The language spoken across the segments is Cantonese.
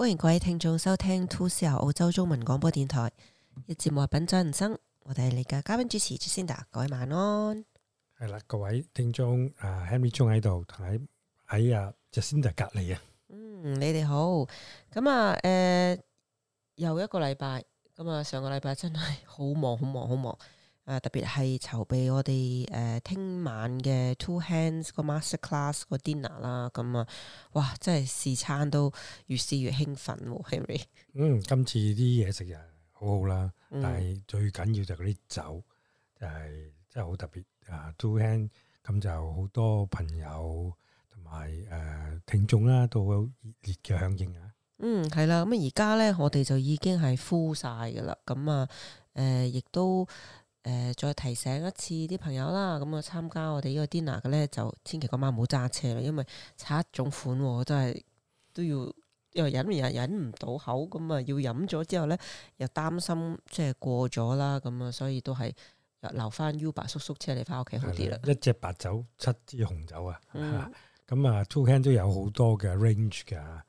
歡迎各位聽眾收聽 2CR 澳洲中文廣播電台嘅節目《品酒人生》，我哋係你嘅嘉賓主持 Jacinda， 各位晚安。 係啦，各位聽眾，Henry 鍾喺度，同喺Jacinda 隔離啊。 你哋好。又一個禮拜，上個禮拜真係好忙，特別係籌備我哋聽晚嘅 Two Hands 個 Master Class 個 dinner 啦，哇，真係試餐都越試越興奮喎 ，Henry。 今次啲嘢食又好好啦，但係最緊要就係嗰啲酒，就係真係好特別啊 ！Two Hands 咁就好多朋友同埋聽眾啦，都好熱烈嘅響應啊！ 係啦，而家咧我哋就已經係 full 晒噶啦，亦都再提醒一次啲朋友啦，參加我哋呢個 dinner 嘅咧，就千祈嗰晚唔好揸車啦，因為差一種款真係都要，因為忍唔到口，要飲咗之後咧又擔心即係過咗啦，所以都係留翻 Uber 叔叔車你翻屋企好啲啦。 一隻白酒，7支紅酒啊！Two Hands 都有好多嘅 range 噶，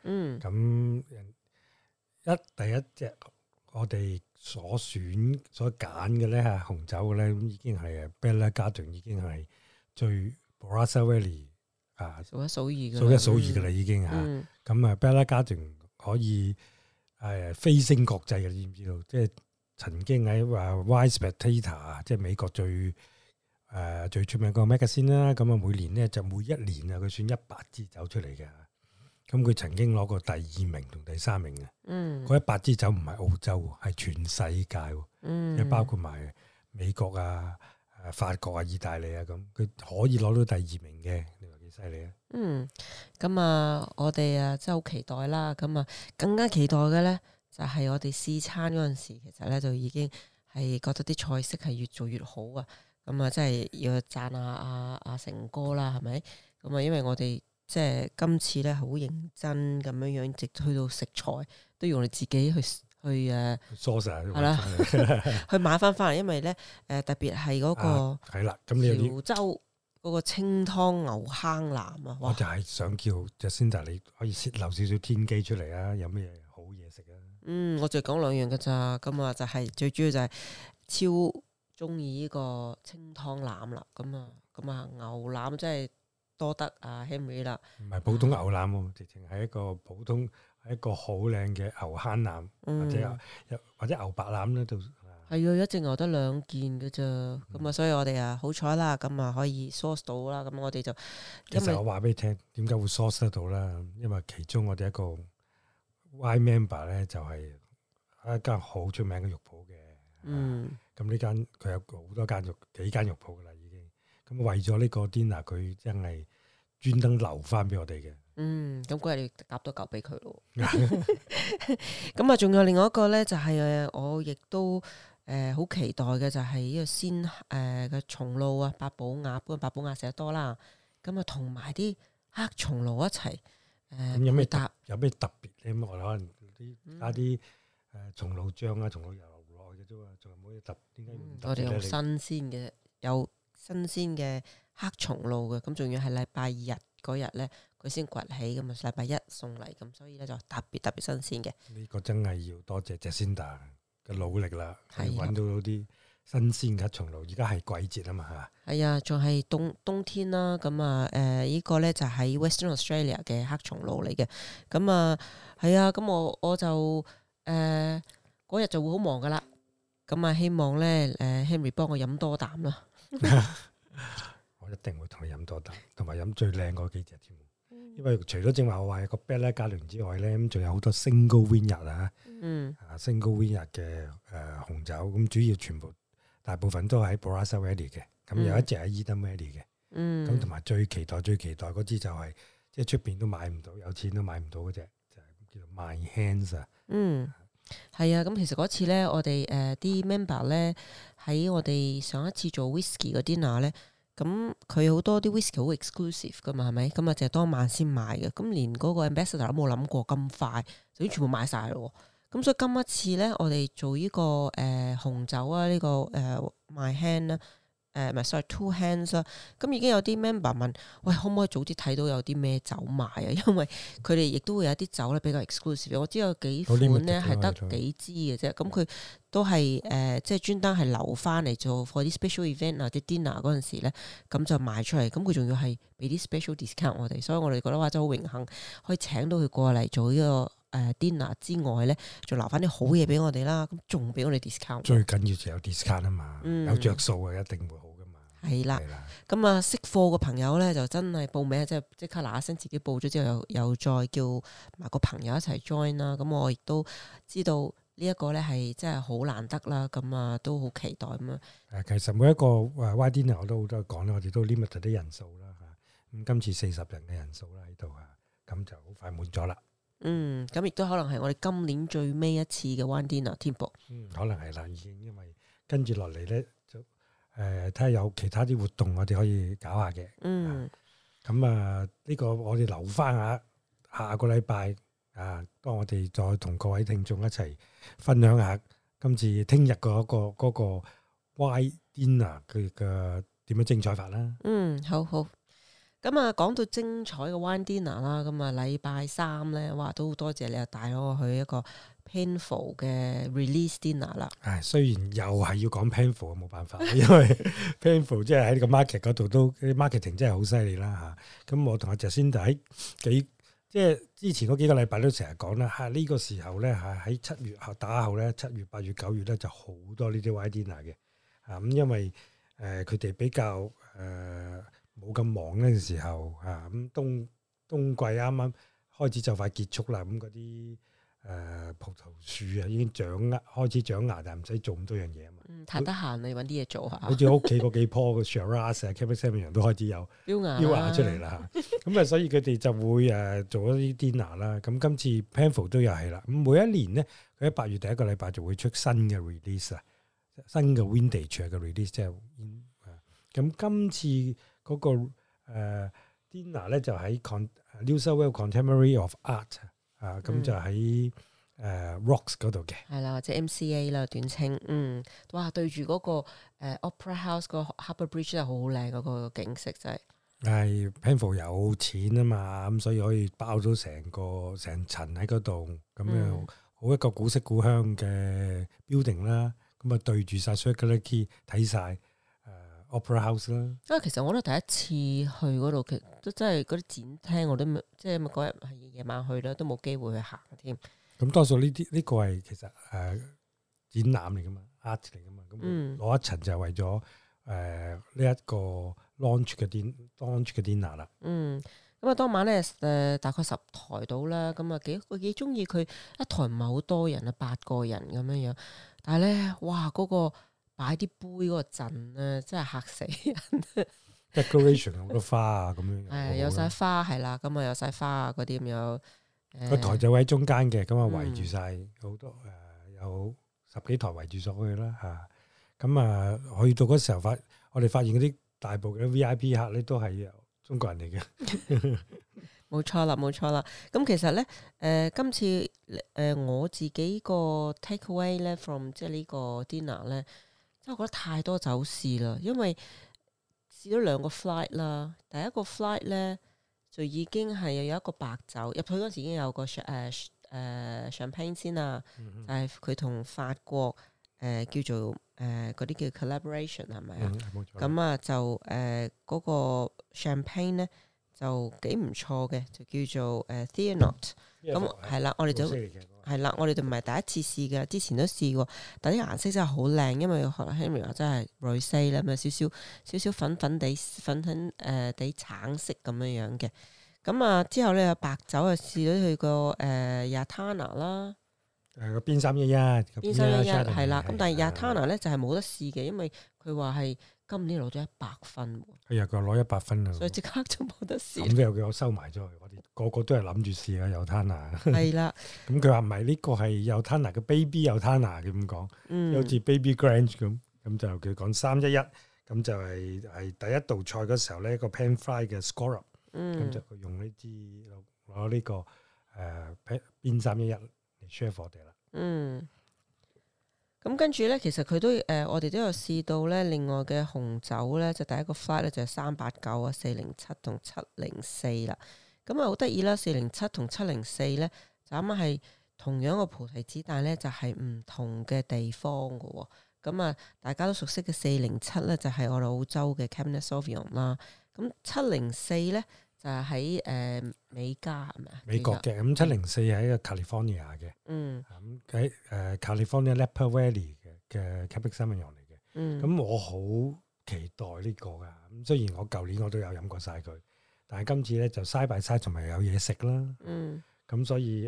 第一隻我哋所選所揀嘅咧嚇紅酒嘅咧，咁已經係Bella Garden 已經係最 Barossa Valley 數一數二嘅啦已經嚇。Bella Garden 可以飛升國際嘅，你知唔知道？即係曾經喺Wine Spectator 即係美國最出名個 magazine 啦，每年咧就每一年佢選100支酒出嚟嘅，佢曾經攞過第2名同第3名嘅，嗰100支酒唔係澳洲，係全世界，即包括埋美國法國啊、意大利啊咁，佢可以攞到第2名嘅，你話幾犀利啊？ 我哋真係好期待啦，更加期待嘅咧就係我哋試餐嗰陣時，其實咧就已經係覺得啲菜式係越做越好啊！真係要讚下阿成哥啦，係咪？因為我哋即係今次咧好認真咁樣，直去到食材都要我哋自己去梳晒係啦，去買翻嚟，因為咧特別係嗰個係啦，咁你潮州嗰個清湯牛坑腩啊， 我就係想叫 Jacinda 你可以洩漏少少天機出嚟啊！有咩好嘢食啊？ 我就講2樣噶咋，就係最主要就係超中意呢個清湯腩啦，牛腩真係多得Henry 啦，唔係普通牛腩喎，直情係一個普通係一個好靚嘅牛坑腩，或者牛白腩咧，都係一隻牛得2件嘅咋，所以我哋好彩啦，可以 source 到啦，我哋就其實我話俾你聽，點解會 source 得到啦？因為其中我哋一個 Y member 咧就係一間好出名嘅肉鋪嘅。咁呢間佢有好多幾間肉鋪噶啦，已經咁為咗呢個 dinner，佢真係專登留翻俾我哋嘅。 咁嗰日要夾多嚿俾佢咯。仲有另外一個咧，就係我亦都好期待嘅，就係呢個鮮嘅松露啊，八寶鴨，不過八寶鴨食得多啦。同埋啲黑松露一齊。 咁有咩特別咧？我哋可能加啲松露醬啊，松露油。仲有冇嘢特？點解我哋有新鮮嘅黑松露嘅，仲要係禮拜日嗰日咧，佢先崛起咁禮拜1送嚟，所以咧就特別新鮮嘅。 呢個真係要多謝 Jacinda 嘅努力啦，係揾到啲新鮮嘅黑松露。而家係季節啊嘛， 係啊，仲係冬天啦。呢個咧就係 Western Australia 嘅黑松露嚟嘅。我就嗰日就會好忙噶啦。希望咧Henry 幫我飲多啖啦。 我一定會同你飲多啖，同埋飲最靚嗰幾隻添。因為除咗正話我話個 Bella Garden 之外咧，咁仲有好多 Single Vineyard Single Vineyard 嘅紅酒，咁主要全部大部分都喺 Barossa Valley 嘅，咁有一隻喺 Eden Valley 嘅。咁同埋最期待嗰支就係即係出邊都買唔到，有錢都買唔到嗰隻，就係叫做 My Hands 啊。 係啊，其實嗰次咧，我哋啲 member 咧喺我哋上一次做 whisky 嘅 dinner 咧，佢好多啲 whisky 好 exclusive 噶嘛，係咪？就係當晚先買嘅，連嗰個 ambassador 都冇諗過咁快就已經全部買晒咯。所以今一次咧，我哋做呢個紅酒啊，呢個My Hand 咧， 唔係 sorry two hands 啦。咁已經有啲 member 問，喂，可唔可以早啲睇到有啲咩酒賣啊？因為佢哋亦都會有啲酒咧比較 exclusive。我知有幾款咧係得幾支嘅啫。咁佢都係即係專登係留翻嚟做 for 啲 special event 啊，啲 dinner 嗰陣時咧，咁就賣出嚟。咁佢仲要係俾啲 special discount 我哋，所以我哋覺得話真係好榮幸可以請到佢過嚟做呢個。dinner 之外咧，仲留翻啲好嘢俾我哋啦，咁仲俾我哋 discount。最緊要就有 discount 啊嘛，有着數啊，一定會好噶嘛。 係啦，咁啊識貨嘅朋友咧，就真係報名，即刻嗱一聲自己報咗之後，又再叫埋個朋友一齊 join 啦。咁我亦都知道呢一個咧係真係好難得啦，咁啊都好期待咁啊。 其實每一個wine dinner 我都好多講啦，我哋都 limit 啲人數啦嚇。咁今次40人嘅人數啦喺度啊，咁就好快滿咗啦。 咁亦都可能係我哋今年最尾一次嘅 wine dinner 添噃。 可能係啦，已經因為跟住落嚟咧，就睇下有其他啲活動我哋可以搞下嘅。咁呢個我哋留翻下個禮拜啊，當我哋再同各位聽眾一齊分享下今次聽日嗰個 wine dinner 佢嘅點樣精彩法啦。 好。咁啊，講到精彩嘅 wine dinner 啦，咁啊禮拜三咧，哇都好多謝你又帶咗我去一個 Penfolds 嘅 release dinner 啦。 雖然又係要講 Penfolds 冇辦法，因為 Penfolds 即係喺呢個 market 嗰度都啲 marketing 真係好犀利啦嚇。咁我同阿 Jacinda 喺即係之前嗰幾個禮拜都成日講啦，呢個時候咧喺7月打後咧，7月、8月、9月咧就好多呢啲 wine dinner 嘅。咁因為佢哋比較冇咁忙嗰陣時候咁冬季啱啱開始就快結束啦，咁嗰啲葡萄樹已經開始長芽，但係唔使做咁多樣嘢啊嘛。 太得閒你揾啲嘢做下。 好似屋企嗰幾棵嘅 Shiraz、Cabernet Sauvignon 都開始有標芽出嚟啦。咁所以佢哋就會做一啲 dinner 啦。咁今次 Penfolds 都又係啦。咁每一年咧，佢喺8月第一個禮拜就會出新嘅 release 新嘅 vintage 嘅 release 即係咁今次嗰個dinner 咧就喺New South Wales Contemporary of Art 咁就喺Rocks 嗰度嘅，係啦，或者 MCA 啦短稱。哇，對住嗰個Opera House 個 Harbour Bridge 真係好靚，嗰個景色真係。係 Penfolds 有錢啊嘛，咁所以可以包咗成層喺嗰度，咁樣好一個古色古香嘅 building 啦。咁對住晒 Circular Quay 睇晒。Opera House 啦， 因為其實我都第一次去嗰度，其實都真係嗰啲展廳我都即係嗰日係夜晚去啦，都冇機會去行添。 咁多數呢個係其實展覽嚟噶嘛 ，art 嚟噶嘛，咁攞一層就係為咗呢一個 launch 嘅 dinner 啦。 咁啊當晚咧大概10台到啦，咁啊幾中意佢一台唔係好多人啊，8個人咁樣樣，但係咧哇嗰個。擺啲杯嗰個陣咧，真係嚇死人。 Decoration 好多花啊，咁樣有晒花係啦，咁啊有晒花啊嗰啲咁樣。 個台就喺中間嘅，咁啊圍住晒好多有10幾台圍住咗佢啦嚇。咁去到嗰時候我哋發現嗰啲大部嘅 VIP 客咧都係中國人嚟嘅。 冇錯啦。咁其實咧今次我自己個 take away 咧 from 即係呢個 dinner 咧。真係覺得太多酒試啦，因為試咗2個 flight 啦。第一個 flight 咧就已經係有一個白酒入去嗰時已經有個champagne 先啦，就係佢同法國叫做嗰啲叫 collaboration 係咪啊？咁就嗰個 champagne 咧就幾唔錯嘅，就叫做Thiernot。咁係啦，我哋就係啦，我哋就唔係第一次試嘅，之前都試過，但啲顏色真係好靚，因為 Henry 話真係 rosé 啦，咁少少粉粉地橙色咁樣樣嘅。咁之後咧有白酒試咗佢個Yattarna 啦， 個邊311 係啦，咁但係 Yattarna 咧就係冇得試嘅，因為佢話係今年攞咗100分。 佢又攞100分啊！ 所以即刻就冇得試。 咁又叫我收埋咗佢，我哋個個都係諗住試啊Yattarna。 係啦。 咁佢話唔係呢個係Yattarna嘅 baby Yattarna 嘅咁講，好似 baby Grange 咁就佢講311，咁就係第一道菜嗰時候咧個 pan fry 嘅 scallop，咁就佢用呢支攞呢個邊311嚟 share 我哋啦。 咁跟住咧，其實佢都我哋都有試到咧，另外嘅紅酒咧，就第一個 flight 咧就係389啊、407同704啦。咁啊好得意啦，407同704咧就啱啱係同樣個菩提子，但係咧就係唔同嘅地方嘅喎。咁啊，大家都熟悉嘅407咧就係我哋澳洲嘅 Cabernet Sauvignon 啦。咁704咧就係喺美加係咪啊？ 美國嘅。咁704係一個 California 嘅。咁喺California Napa Valley 嘅 Cabernet Sauvignon 嚟嘅。咁我好期待呢個㗎。咁雖然我舊年我都有飲過晒佢，但係今次咧就 side by side 同埋有嘢食啦。咁所以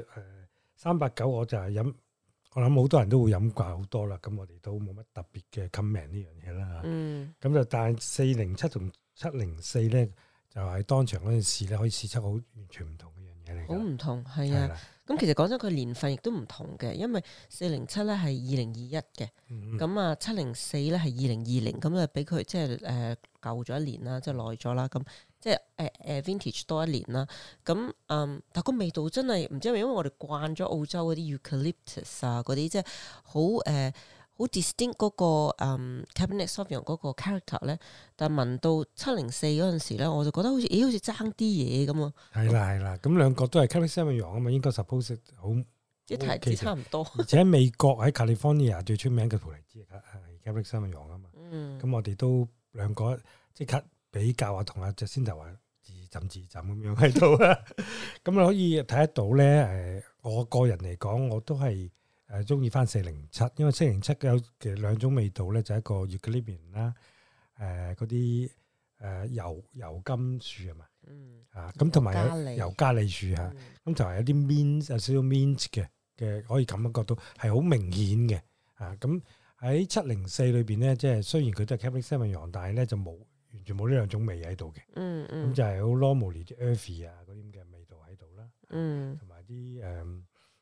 389我就係飲。我諗好多人都會飲慣好多啦，咁我哋都冇乜特別嘅 comment 呢樣嘢啦。咁就但係407同704咧，就係當場嗰陣時咧，可以試出好完全唔同嘅樣嘢嚟。好唔同係啊！咁其實講真，佢年份亦都唔同嘅，因為407咧係2021嘅，咁啊704咧係2020，咁啊俾佢即係舊咗一年啦，即係耐咗啦，咁。即係vintage 多一年啦，咁但個味道真係唔知係咪因為我哋慣咗澳洲嗰啲 eucalyptus 啊嗰啲，即係好 distinct 嗰個Cabernet Sauvignon 嗰個 character 咧，但係聞到704嗰陣時咧，我就覺得好似爭啲嘢咁啊！ 係啦，咁兩個都係 Cabernet Sauvignon 啊嘛，應該 suppose 好啲提子差唔多。 而且美國喺 California 最出名嘅葡提子係 Cabernet Sauvignon 啊嘛，咁我哋都兩個即刻。比較啊，同阿 Jacinda 話自浸咁樣喺度啊，咁你可以睇得到咧。我個人嚟講，我都係中意翻407，因為407有嘅兩種味道咧，就係一個 eucalyptus 啦，嗰啲油甘樹係嘛，咁同埋有尤加利樹嚇，咁同埋有啲 mint 有少少 mint 嘅，可以感覺到係好明顯嘅咁喺704裏邊咧，即係雖然佢都係 Cabernet Sauvignon，但係咧就冇。完全冇呢兩種味喺度嘅，咁就係好 normally 啲 earthy 啊嗰啲咁嘅味道喺度啦，同埋啲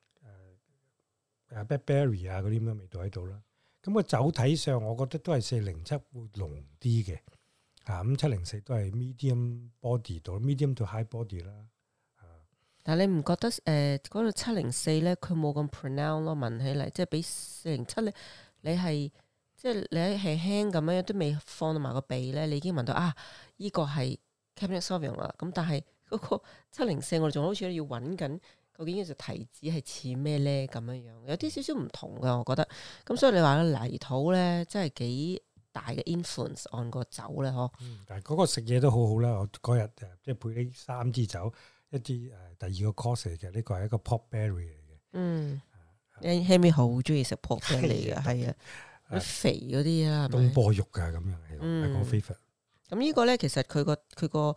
blackberry 啊嗰啲咁嘅味道喺度啦。咁個酒體上，我覺得都係407會濃啲嘅，咁704都係 medium body 到 medium to high body 啦。 但係你唔覺得嗰個704咧，佢冇咁 pronounce 咯，聞起嚟即係比407咧，你係。即係你係輕咁樣都未放到埋個鼻咧，你已經聞到依個係 Cabernet Sauvignon 啦。咁但係嗰個704我哋仲好似要揾緊，究竟呢隻提子係似咩咧咁樣樣，有啲少少唔同㗎，我覺得。咁所以你話泥土咧，真係幾大嘅 influence on 個酒咧，嗬。 但係嗰個食嘢都好好啦。我嗰日即係配呢3支酒，一支第二個 course 嚟嘅，呢個係一個 pork belly 嚟嘅。 Henry 好中意食 pork belly 嘅，係啊。肥嗰啲啦， 東坡肉㗎咁樣係我 favorite。 咁呢個咧，其實佢個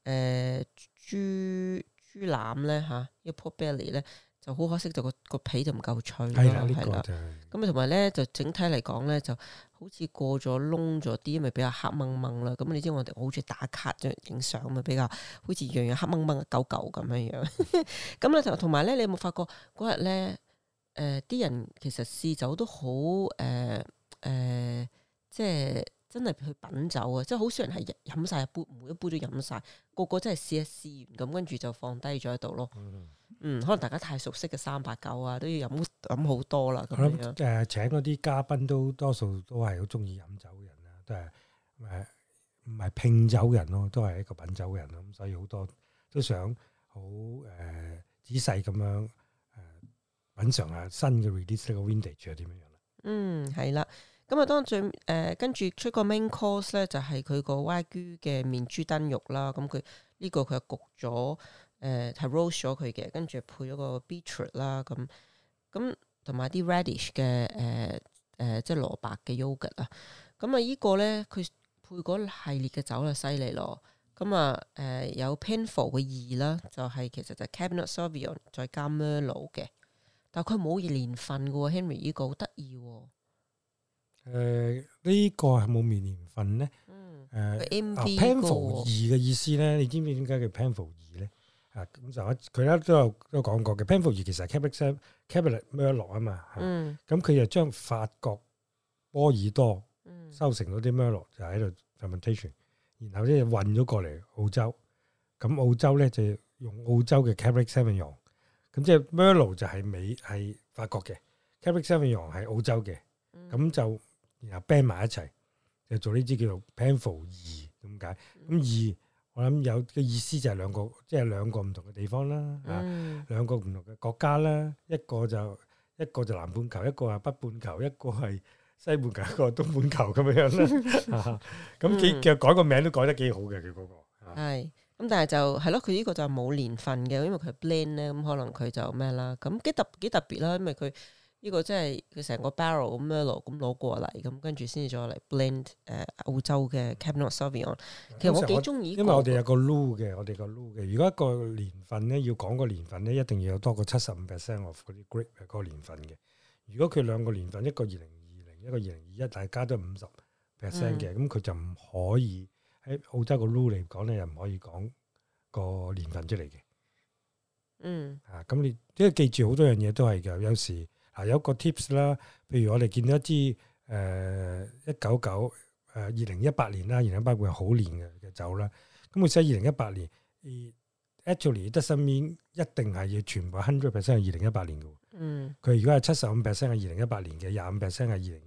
豬腩咧呢個 pork belly 咧就好可惜，就個皮就唔夠脆咯。係啦，咁啊同埋咧就整體嚟講咧，就好似過咗燶咗啲，因為比較黑掹掹啦。咁你知我哋好似打卡影相咁啊，比較好似樣樣黑掹掹舊舊咁樣樣。咁咧同埋咧，你有冇發覺嗰日咧啲人其實試酒都好即係真係去品酒啊！即係好少人係飲晒一杯，每一杯都飲晒，個個真係試一試完咁，跟住就放低咗喺度咯。可能大家太熟悉嘅389啊，都要飲好多啦。咁樣請嗰啲嘉賓都多數都係好中意飲酒嘅人啦，都係唔係拼酒人咯，都係一個品酒人咯。咁所以好多都想好仔細咁樣品嚐下新嘅 release 呢個 vintage 係點樣啦。 係啦。咁啊，當最跟住出個 main course 咧，就係佢個 Wagyu 嘅面豬燉肉啦。咁佢呢個佢係焗咗係 roast 咗佢嘅，跟住配咗個 beetroot 啦。咁同埋啲 radish 嘅即係蘿蔔嘅 yogurt 啊。咁啊，依個咧佢配嗰系列嘅酒就犀利咯。咁啊有 Penfolds 嘅2啦，就係其實就 Cabernet Sauvignon 再加 Merlot 嘅，但係佢冇年份嘅喎。Henry 呢個好得意喎。 呢個係冇年份咧。Penfolds 2嘅意思咧，你知唔知點解叫 Penfolds 2咧？咁就佢咧都有講過嘅。Penfolds 2其實係 Cabernet Merlot 啊嘛。咁佢就將法國波爾多收成嗰啲 Merlot 就喺度 fermentation，然後咧運咗過嚟澳洲。咁澳洲咧就用澳洲嘅 Cabernet Sauvignon。咁即係 Merlot 就係法國嘅 Cabernet Sauvignon 係澳洲嘅。 咁就然後 blend 埋一齊，就做呢支叫做 Penfolds 2咁解。咁2我諗有嘅意思就係兩個，即係兩個唔同嘅地方啦，兩個唔同嘅國家啦，一個就南半球，一個係北半球，一個係西半球，一個係東半球咁樣啦。咁其實改個名都改得幾好嘅，佢嗰個。 係。咁但係就係咯，佢呢個就冇年份嘅，因為佢 blend 咧，咁可能佢就咩啦，咁幾特別啦，因為佢呢個真係佢成個 barrel 咁樣咁攞過嚟，咁跟住先至再嚟 blend 澳洲嘅 Cabernet Sauvignon。其實我幾中意， 因為我哋有個 rule 嘅，如果一個年份咧要講個年份咧，一定要有多過75% of 嗰啲 grape 嗰個年份嘅。如果佢兩個年份，一個2020，一個2021，大家都50% 嘅，咁佢就唔可以。喺澳洲個 rule 嚟講咧，又唔可以講個年份出嚟嘅。咁你即係記住好多樣嘢都係嘅。有時有個 tips 啦，譬如我哋見到一支2018年啦，2018會係好年嘅酒啦。咁佢寫2018年 ，actually doesn't mean 一定係要全部 100% 係2018年嘅。佢如果係75% 係2018年嘅，25% 係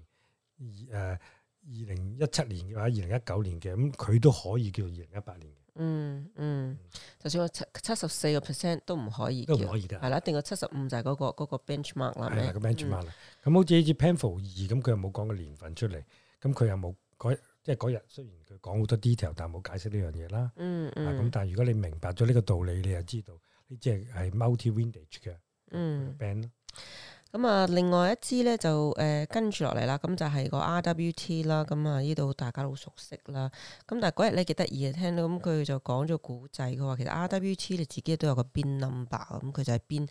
2017年嘅話，2019年嘅，咁佢都可以叫2018年嘅。 就算我74% 都唔可以， 都唔可以㗎。 係啦，一定個75就係嗰個 benchmark 啦。 係啦，個 benchmark 啦。咁好似呢支 Penfolds 2咁，佢又冇講個年份出嚟，咁佢又冇即係嗰日雖然佢講好多 detail，但係冇解釋呢樣嘢啦。咁但係如果你明白咗呢個道理，你就知道呢支係 multi vintage 嘅 band 咯。 咁啊，另外一支咧就跟住落嚟啦，咁就係個 RWT 啦，咁啊呢度大家都好熟悉啦。咁但係嗰日咧幾得意嘅，聽到咁佢就講咗古仔，佢話其實 RWT 你自己都有個 bin number，咁佢就係bin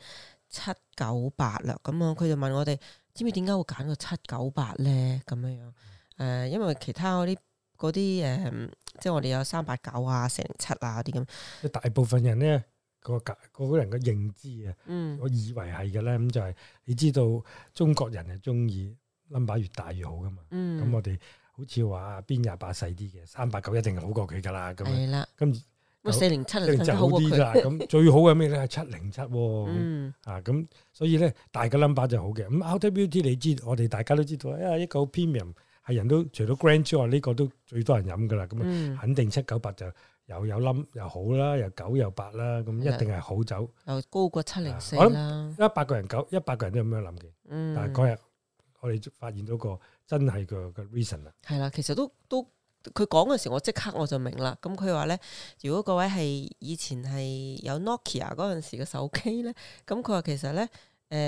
798啦。咁啊，佢就問我哋知唔知點解會揀個798咧？咁樣因為其他嗰啲即係我哋有389啊、407啊啲咁。 大部分人咧。個人嘅認知啊，我以為係嘅咧，咁就係你知道中國人係中意 number 越大越好噶嘛。咁我哋好似話邊28細啲嘅389一定係好過佢噶啦。咁係啦，咁407就好啲啦。咁最好嘅咩咧係707。咁所以咧大嘅 number 就好嘅。咁 RWT 你知，我哋大家都知道一個 premium 係人都除咗 Grand 之外，呢個都最多人飲噶啦。咁肯定798就。有冧又好啦，又9又8啦，咁一定係好酒， 又高過704啦。 我諗100個人都咁樣諗嘅。但係嗰日我哋發現到個真係個 reason 啦。係啦，其實都佢講嘅時候，我即刻我就明啦。咁佢話咧，如果各位係以前係有 Nokia 嗰陣時嘅手機咧，咁佢話其實咧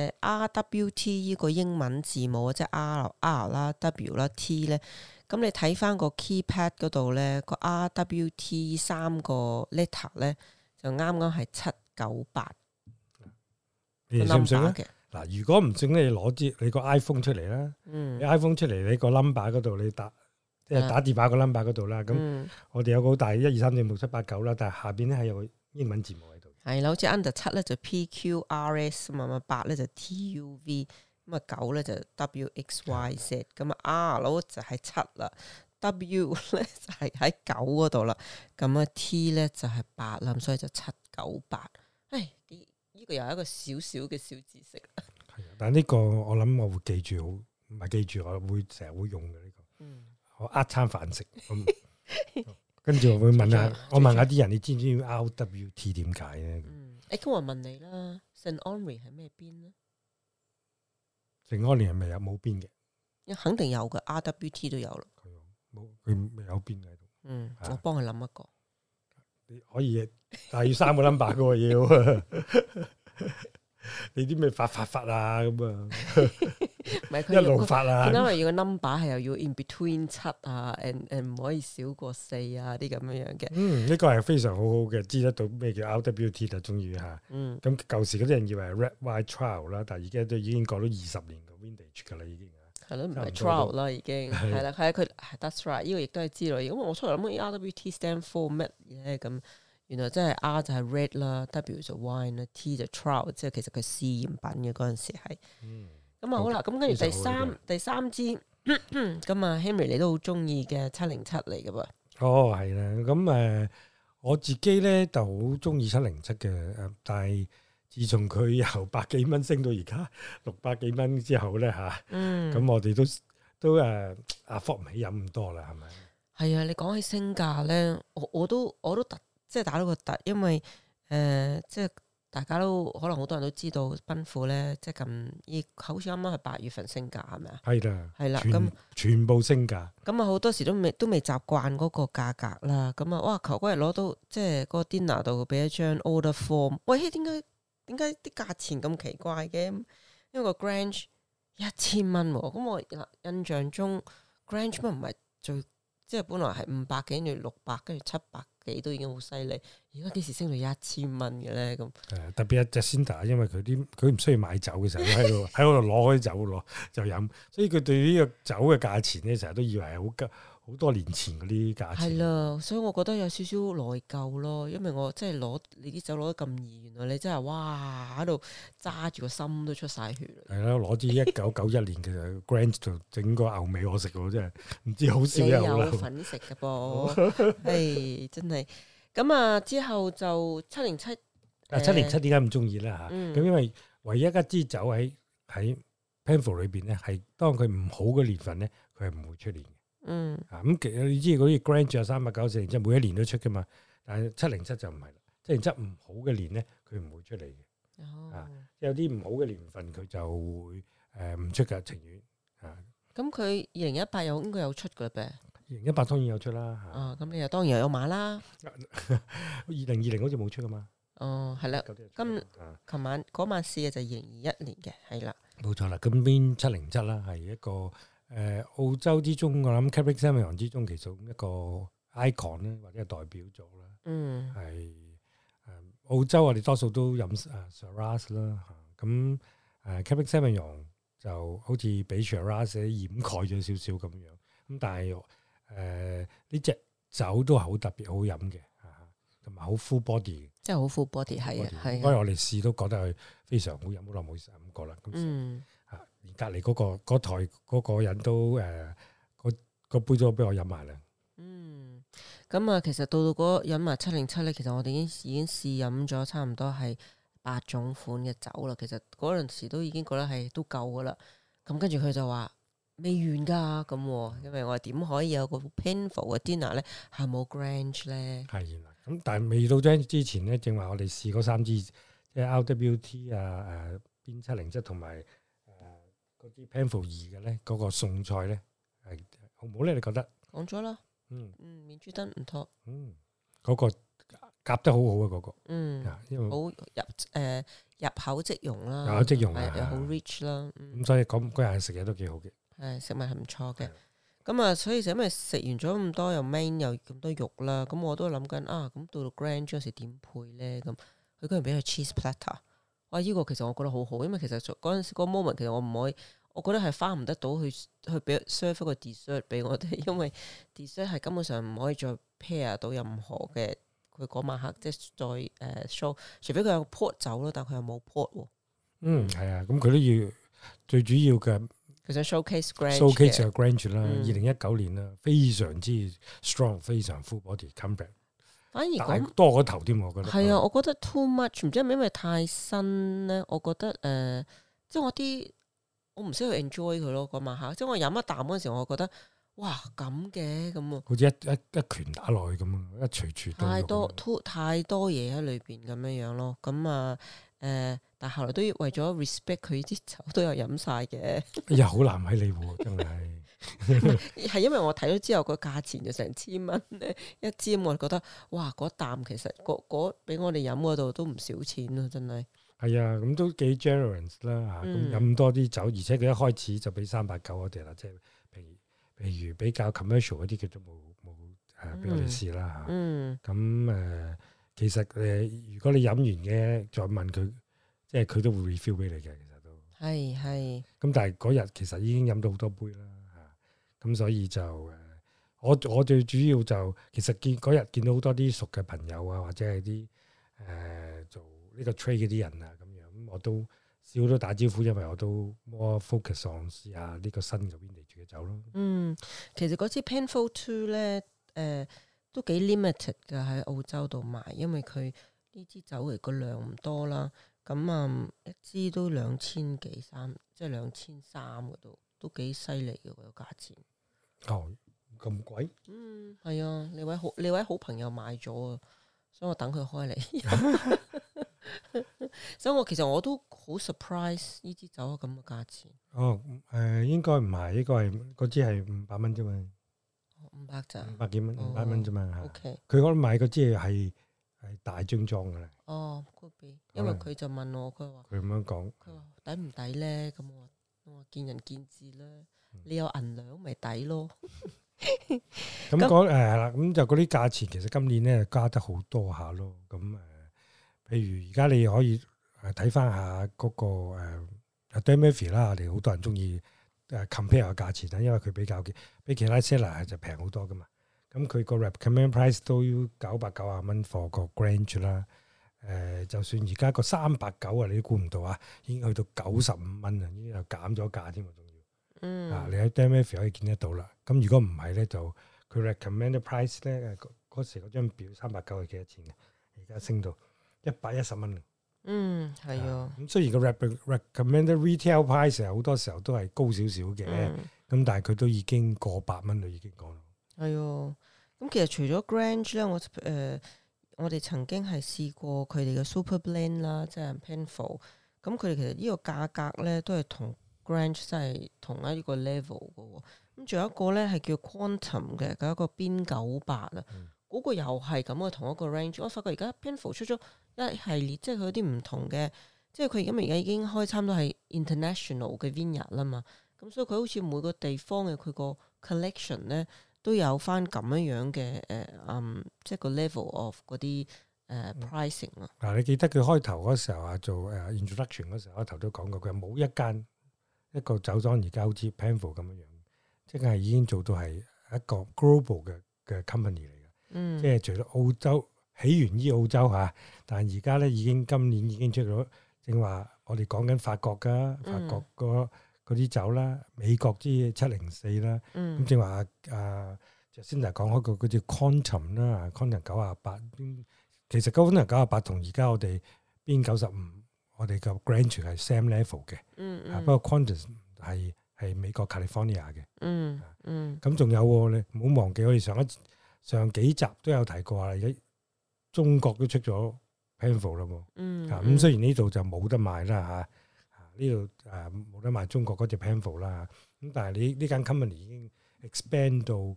RWT 呢個英文字母即係 R 啦、W 啦、T 咧。咁你睇翻個 keypad 嗰度咧，個 RWT 3個 letter 咧就啱啱係798。 你信唔信咧？嗱，如果唔信咧，你攞你個 iPhone 出嚟啦。你 iPhone 出嚟，你個 number 嗰度你打電話個 number 嗰度啦。咁我哋有個好大1、2、3、4、5、6、7、8、9啦，但係下邊咧係有個英文字母喺度。係啦，好似 under 7咧就 PQRS 嘛，8咧就 TUV。咁啊9咧就 WXYZ， 咁啊 R 就係7啦 ，W 咧就係喺9嗰度啦，咁啊 T 咧就係8啦，所以就798。呢個又係一個小小嘅小知識啦。 係啊，但係呢個我諗我會記住，唔係記住，我會成日會用嘅呢個。我餐飯食，跟住我會問下啲人，你知唔知 RWT 點解咧？ 咁我問你啦，St Henri係咩邊咧？ 聖安妮係咪有冇邊嘅？ 肯定有嘅 ，RWT 都有啦。 佢未有邊喺度。 我幫佢諗一個。 你可以，但係要3個 number 嘅要。你啲咩發啊咁啊？ 唔係佢一路發啊。 因為要個 number 係又要 in between 7啊 ，and 唔可以少過4啊啲咁樣嘅。 呢個係非常好好嘅，知得到咩叫 RWT 就中意嚇。咁舊時嗰啲人以為係 Red Wine Trial 啦，但係而家都已經過咗20年嘅 vintage 㗎啦，已經。 係咯，唔係 trial 啦，已經係啦，佢that's right，呢個亦都係知道。咁我出嚟諗 RWT stand for 乜嘢咁？原來真係 R 就係 red 啦 ，W 就 wine 啦 ，T 就 trial， 即係其實佢試驗品嘅嗰陣時係。咁啊好啦，咁跟住第三支咁啊 Henry 你都好中意嘅707嚟嘅噃。 哦，係啦，咁我自己咧就好中意707嘅，但係自從佢由100幾蚊升到而家600幾蚊之後咧嚇，咁我哋都afford唔起飲咁多啦，係咪？ 係啊，你講起升價咧，我都即係打到個突，因為即係大家都可能好多人都知道奔富咧，即係好似啱啱係8月份升價係咪啊？ 係啦， 係啦，咁全部升價。咁啊好多時都未習慣嗰個價格啦。咁啊哇，求嗰日攞到即係嗰個 dinner 度俾一張 order form，喂，點解啲價錢咁奇怪嘅？因為個 Grange 1000蚊喎，咁我印象中 Grange 乜唔係最即係本來係500幾，跟住600，跟住700幾都已經好犀利。而家幾時升到1000蚊嘅咧？咁特別係 Jacinda，因為佢唔需要買酒嘅時候，喺度攞開酒攞就飲，所以佢對呢個酒嘅價錢咧，成日都以為係好多年前嗰啲價錢。係啦，所以我覺得有少少內疚咯，因為我即係攞你啲酒攞得咁易，原來你真係哇喺度揸住個心都出晒血。係啦，攞支1991年嘅 Grange 就整個牛尾我食喎，真係唔知好少有啦。 你有份食嘅噃，係真係。咁啊之後就707。 707點解唔中意咧嚇？咁因為唯一一支酒喺 Penfolds 裏邊咧，係當佢唔好嘅年份咧，佢係唔會出年嘅。咁其實你知嗰啲 Grange 有394年，即係每一年都出噶嘛。但係707就唔係啦，707唔好嘅年咧，佢唔會出嚟嘅。有啲唔好嘅年份，佢就會唔出嘅，情願。 咁佢2018又應該有出嘅呗 ？2018當然有出啦。 咁你又當然又有買啦。 2020好似冇出噶嘛？ 係啦。琴晚嗰晚試嘅就2021年嘅，係啦。 冇錯啦。咁邊707啦，係一個。澳洲之中，我諗 Cabernet Sauvignon 之中，其中一個 icon 咧，或者係代表作啦。係澳洲我哋多數都飲Shiraz 啦。咁Cabernet Sauvignon 就好似俾 Shiraz 掩蓋咗少少咁樣。咁但係呢隻酒都係好特別好飲嘅，同埋好 full body。即係好 full body 係啊，係。所以我哋試都覺得係非常好飲，好耐冇飲過啦。而隔離嗰台嗰個人都個杯都俾我飲埋啦。 咁啊，其實到飲埋707咧，其實我哋已經試飲咗差唔多係8種款嘅酒啦。其實嗰陣時都已經覺得係都夠噶啦。咁跟住佢就話未完㗎咁，因為我哋點可以有個 Penfolds 嘅 dinner 咧係冇 Grange 咧？ 係啦，咁但係未到 Grange 之前咧，正話我哋試嗰3支，即係 RWT 邊707同埋。嗰啲 Penfolds 2嘅咧，嗰個餸菜咧係好唔好咧？你覺得？ 講咗啦，面珠燈唔錯， 嗰個夾得好好啊，嗰個，因為好入口即溶啦， 入口即溶又好 rich 啦， 咁所以嗰日食嘢都幾好嘅， 係食物係唔錯嘅，咁啊，所以就因為食完咗咁多又 main 又咁多肉啦，咁我都諗緊咁到到 Grange 嗰時點配咧？咁佢居然俾佢 cheese platter。哇！依個其實我覺得好好，因為其實嗰陣時嗰 moment 其實我唔可以，我覺得係花唔得到去俾 serve 一個 dessert 俾我哋，因為 dessert 係根本上唔可以再 pair 到任何嘅佢嗰晚黑即係再show，除非佢有 port 酒咯，但佢又冇 port 喎。 係啊，咁佢都要最主要嘅， 佢想 showcase Grange 嘅 Grange 啦，2019年啦，非常之 strong， 非常 full body compact。 反而講多個頭添，我覺得係啊，我覺得 too much，唔知係咪因為太新咧？我覺得即係我唔識去 enjoy 佢咯。嗰晚黑，即係我飲一啖嗰陣時，我覺得哇咁嘅咁啊， 好似一拳打落去咁啊，一錘錘太多嘢喺裏邊咁樣咯。咁啊但係後來都要為咗 respect 佢啲酒都有飲晒嘅。 哎呀，好難為你喎，真係。 係因為我睇咗之後個價錢就成1000蚊咧一支，我就覺得哇嗰啖其實嗰俾我哋飲嗰度都唔少錢咯，真係。 係啊，咁都幾 generous 啦嚇，咁飲多啲酒，而且佢一開始就俾389我哋啦，即係譬如比較 commercial 嗰啲佢都冇俾我哋試啦嚇。咁其實如果你飲完嘅再問佢，即係佢都會 refill 俾你嘅，其實都係。咁但係嗰日其實已經飲到好多杯啦。咁所以就我最主要就其實嗰日見到好多啲熟嘅朋友啊，或者係啲做呢個 trade 嗰啲人啊咁樣，咁我都少咗打招呼，因為我都 more focus on 試下呢個新嘅 vintage 嘅酒咯。 其實嗰支 Penfolds 2咧都幾 limited 㗎喺澳洲度賣，因為佢呢支酒嚟個量唔多啦。咁一支都2000幾3，即係2300嗰度。 都幾犀利嘅個價錢。 哦，咁貴？ 係啊，你位好朋友買咗啊，所以我等佢開嚟。所以我其實我都好 surprise 呢支酒咁嘅價錢。 哦，應該唔係，應該係嗰支係500蚊啫嘛。 500咋 ？500幾蚊，500蚊啫嘛。 OK， 佢嗰買嗰支係大樽裝嘅啦。 哦，could be，因為佢就問我，佢話佢咁樣講， 佢話抵唔抵咧？咁我話見仁見智啦。你有銀兩咪抵咯。 咁講係啦，咁就嗰啲價錢其實今年咧加得好多下咯。咁譬如而家你可以睇翻下嗰個Dan Murphy 啦，我哋好多人中意compare 個價錢啦，因為佢比其他 seller 就平好多噶嘛。咁佢個 recommend price 都要990蚊 for 個 Grange 啦。就算而家個390啊，你都估唔到啊，已經去到95蚊啊，已經又減咗價添喎，仲要。你喺 Dan Murphy 可以見得到啦。咁如果唔係咧，就佢 recommend price 咧，嗰時嗰張表390係幾多錢嘅？而家升到110蚊。 係啊。 咁雖然個 recommended retail price 好多時候都係高少少嘅，咁但係佢都已經過100蚊啦，已經講。 係啊。咁其實除咗 Grange 咧，我哋曾經係試過佢哋嘅 Super Blend 啦，即係 Penfolds。咁佢哋其實呢個價格咧都係同 Grange 真係同一個 level 嘅。咁仲有一個咧係叫 Quantum 嘅，嗰一個邊98啊。嗰個又係咁嘅同一個 range，我發覺而家 Penfolds 出咗一系列，即係佢有啲唔同嘅，即係佢而家已經開差唔多係 international 嘅 vineyard 啦嘛，咁所以佢好似每個地方嘅佢個 collection 咧都有翻咁樣嘅即係個 level of 嗰啲pricing 啊。 嗱，你記得佢開頭嗰時候啊，做introduction 嗰時候開頭都講過，佢冇一個酒莊而家好似 Penfolds 咁樣，即係已經做到係一個 global 嘅 company 嚟。即係除咗澳洲起源於澳洲嚇，但係而家咧今年已經出咗，正話我哋講緊法國嗰啲酒啦，美國之704啦，咁正話就先嚟講開個嗰隻 Quantum 啦，Quantum 98，其實 Quantum 98同而家我哋邊95，我哋個 Grange 係 same level 嘅，不過 Quantum 係美國 California 嘅，咁仲有喎，你唔好忘記我哋上幾集都有提過啊！而家中國都出咗 Penfolds 啦喎，咁雖然呢度就冇得賣啦嚇，呢度冇得賣中國嗰隻 Penfolds啦，咁但係呢間 company 已經 expand 到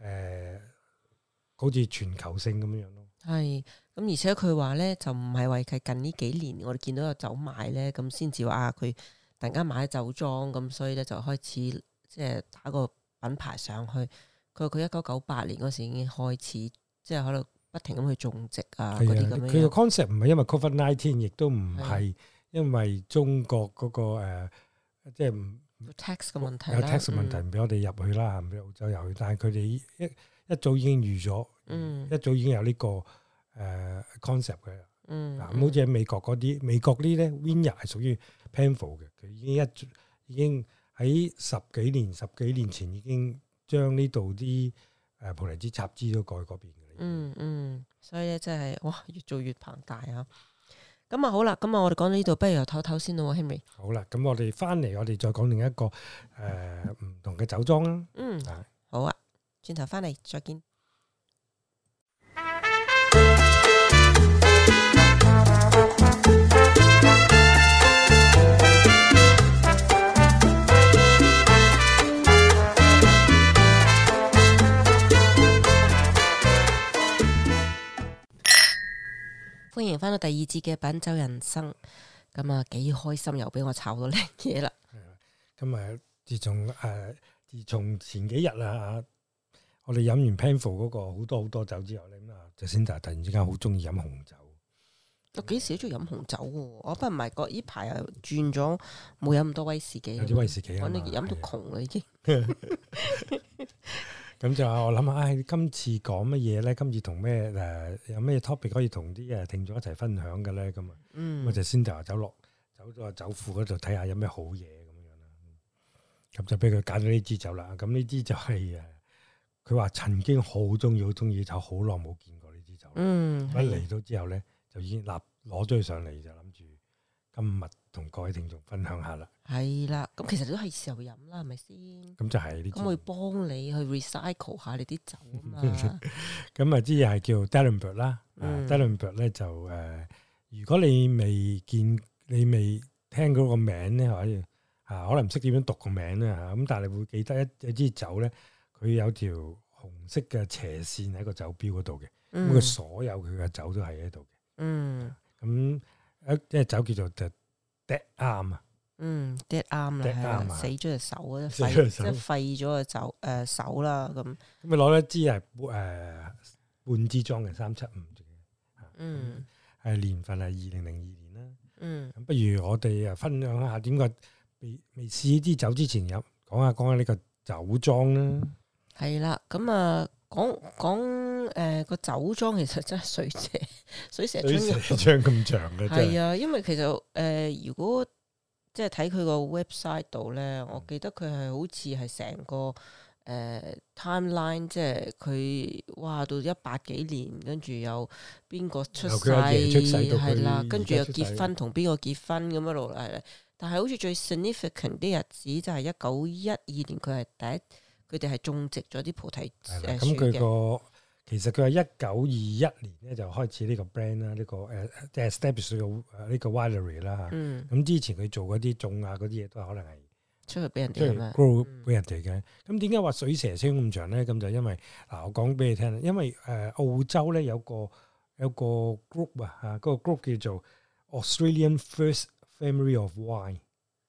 好似全球性咁樣咯。係， 咁而且佢話咧就唔係為佢近呢幾年我哋見到有酒賣咧，咁先至話佢突然間買酒莊，咁所以咧就開始即係打個品牌上去。佢1998年嗰時已經開始，即係喺度不停咁去種植啊嗰啲咁樣。 佢個 concept 唔係因為 COVID-19，亦都唔係因為中國嗰個即係 tax 嘅問題， 有 tax 嘅問題唔俾我哋入去啦，唔俾澳洲入去。但係佢哋一早已經預咗，一早已經有呢個concept 嘅。咁好似喺美國嗰啲呢咧 Vineyard 係屬於 Penfolds 嘅，佢已經喺十幾年前已經。將呢度啲葡提子插枝都過去嗰邊嘅。 所以咧真係哇，越做越龐大啊！咁啊好啦，咁啊我哋講到呢度，不如又唞唞先咯，Henry。 好啦，咁我哋翻嚟，我哋再講另一個唔同嘅酒莊啦。 好啊，轉頭翻嚟再見。歡迎翻到第二節嘅品酒人生，咁啊幾開心又俾我炒到靚嘢啦。 咁自從前幾日啊，我哋飲完 Penfolds 嗰個好多酒之後咧，咁就先突然之間好中意飲紅酒。 我幾時都中意飲紅酒喎，我不過唔係呢排又轉咗冇飲咁多威士忌。 有啲威士忌我哋飲到窮啦已經。 咁就我諗下，今次講乜嘢咧？今次同咩有咩 topic 可以同啲聽眾一齊分享嘅咧？咁我就先就話走咗個酒庫嗰度睇下有咩好嘢咁樣啦。咁就俾佢揀咗呢支酒啦。咁呢支就係佢話曾經好中意，就好耐冇見過呢支酒。一嚟到之後咧，就已經攞咗佢上嚟，就諗住今日同各位聽眾分享下啦。 係啦，咁其實都係時候飲啦，係咪先？ 咁就係呢。 咁會幫你去 recycle 下你啲酒啊嘛。 咁啊，啲嘢係叫 Dallenberg 啦。Dallenberg 咧就如果你未聽嗰個名咧，可以可能唔識點樣讀個名咧嚇。咁但係你會記得一支酒咧，佢有條紅色嘅斜線喺個酒標嗰度嘅。咁佢所有佢嘅酒都係喺度嘅。咁一隻酒叫做 The Dead Arm 啊。 dead arm 啦，死咗隻手啊，即係廢咗個手啦咁。咁你攞一支係半支裝嘅375嘅，係年份係2002年啦。咁不如我哋分享下點解未試呢支酒之前講下呢個酒莊啦。係啦，咁啊講個酒莊其實真係水蛇春咁長嘅。 係啊，因為其實如果即係睇佢個 website 度咧，我記得佢係好似係成個timeline，即係佢到100幾年，跟住又邊個出世係啦，跟住又結婚同邊個結婚咁一路嚟。但係好似最 significant 啲日子就係1912年，佢哋係種植咗啲菩提樹嘅。 咁佢其實佢係1921年咧就開始呢個 brand 啦，呢個即係 establish 呢個 winery 啦嚇。咁之前佢做嗰啲種嗰啲嘢都係可能係出去俾人哋 grow 俾人哋嘅。咁點解話水蛇春咁長咧？咁就因為我講俾你聽啦，因為澳洲咧有個 group 啊嚇，嗰個 group 叫做 Australian First Family of Wine。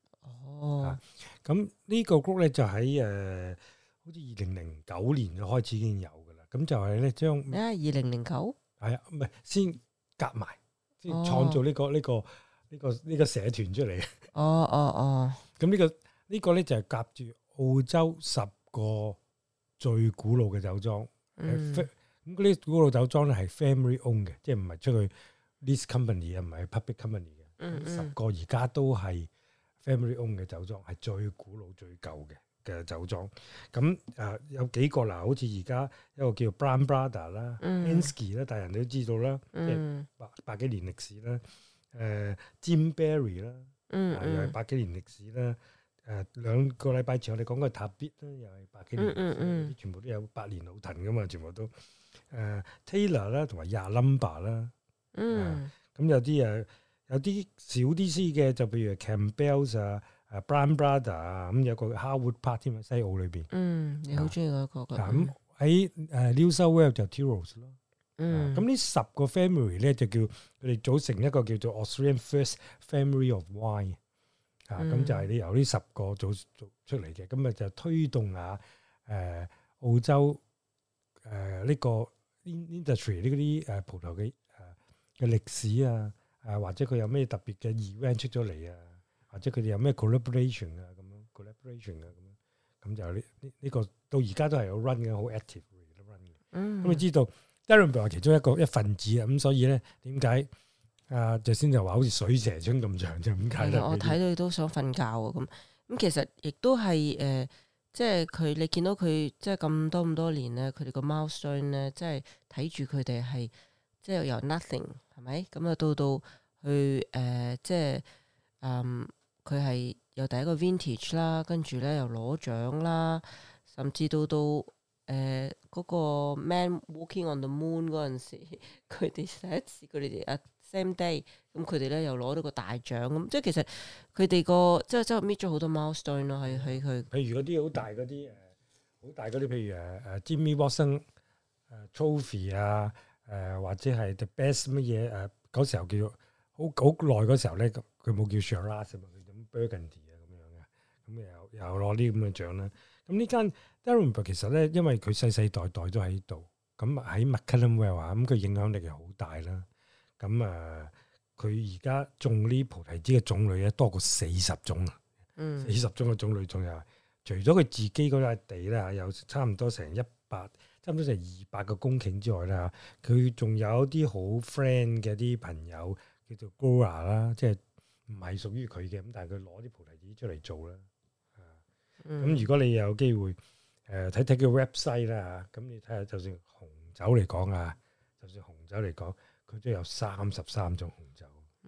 咁呢個 group 咧就喺好似2009年就開始已經有。咁就係咧將 2009 係啊，唔係先夾埋，先創造呢個社團出嚟嘅。咁呢個咧就係夾住澳洲10個最古老嘅酒莊。咁嗰啲古老酒莊咧係 family owned 嘅，即係唔係出去 lease company 啊，唔係 public company 嘅。10個而家都係 family owned 嘅酒莊，係最古老最舊嘅酒莊。咁有幾個好似而家一個叫 Brown Brother 啦，Ansky 啦，大人都知道啦，即係百幾年歷史啦。Jim Barry 啦，又係百幾年歷史啦。2個禮拜前我哋講過 Tabit 啦，又係百幾年歷史，全部都有百年老藤噶嘛，全部都Taylor 啦，同埋 Yalumba 啦。咁有啲少啲詩嘅，就譬如 Campbell's 啊。Brown Brother 啊，咁有個 Harwood Park 添喺西澳裏邊。 你好中意嗰個。 咁喺New South Wales 就 Tyrols 咯。咁呢10個 family 咧就叫佢哋組成一個叫做 Australian First Family of Wine。咁就係你由呢10個組出嚟嘅，咁就推動下澳洲呢個 industry 呢啲葡萄嘅歷史啊，或者佢有咩特別嘅 event 出咗嚟啊。或者佢哋有咩 collaboration 啊咁樣 collaboration 啊咁就呢個到而家都係有 run 嘅，好 active run 嘅。咁你知道 Dallenberg 係其中一份子啊，咁所以咧點解就先就話好似水蛇春咁長就咁解咧？ 我睇到你都想瞓覺啊咁其實亦都係即係你見到佢即係咁多年咧，佢哋個 milestone 咧，即係睇住佢哋係即係由 nothing 係咪咁到去即係佢係有第一個 vintage 啦，跟住咧又攞獎啦，甚至到嗰個 Man Walking on the Moon 嗰陣時，佢哋第一次佢哋same day，咁佢哋咧又攞到個大獎咁，即係其實佢哋個即係搣咗好多 milestone 咯，喺佢。譬如嗰啲好大嗰啲，譬如Jimmy Watson Trophy 啊，或者係 The Best 乜嘢嗰時候叫做好耐嗰時候咧，佢冇叫 Shiraz 啊嘛。Burgundy 啊咁樣嘅，咁又攞啲咁嘅獎啦。咁呢間 Dallenberg 其實咧，因為佢世代都喺度，咁喺 McLaren Vale 啊，咁佢影響力係好大啦。咁佢而家種呢菩提子嘅種類咧多過40種啊，40種嘅種類仲有。除咗佢自己嗰塊地咧，有差唔多成200個公頃之外啦，佢仲有啲好 friend 嘅啲朋友叫做 Grower 啦，即係。唔係屬於佢嘅，咁但係佢攞啲菩提子出嚟做啦。咁如果你有機會睇睇佢 website 啦嚇，咁你睇下，就算紅酒嚟講，佢都有33種紅酒。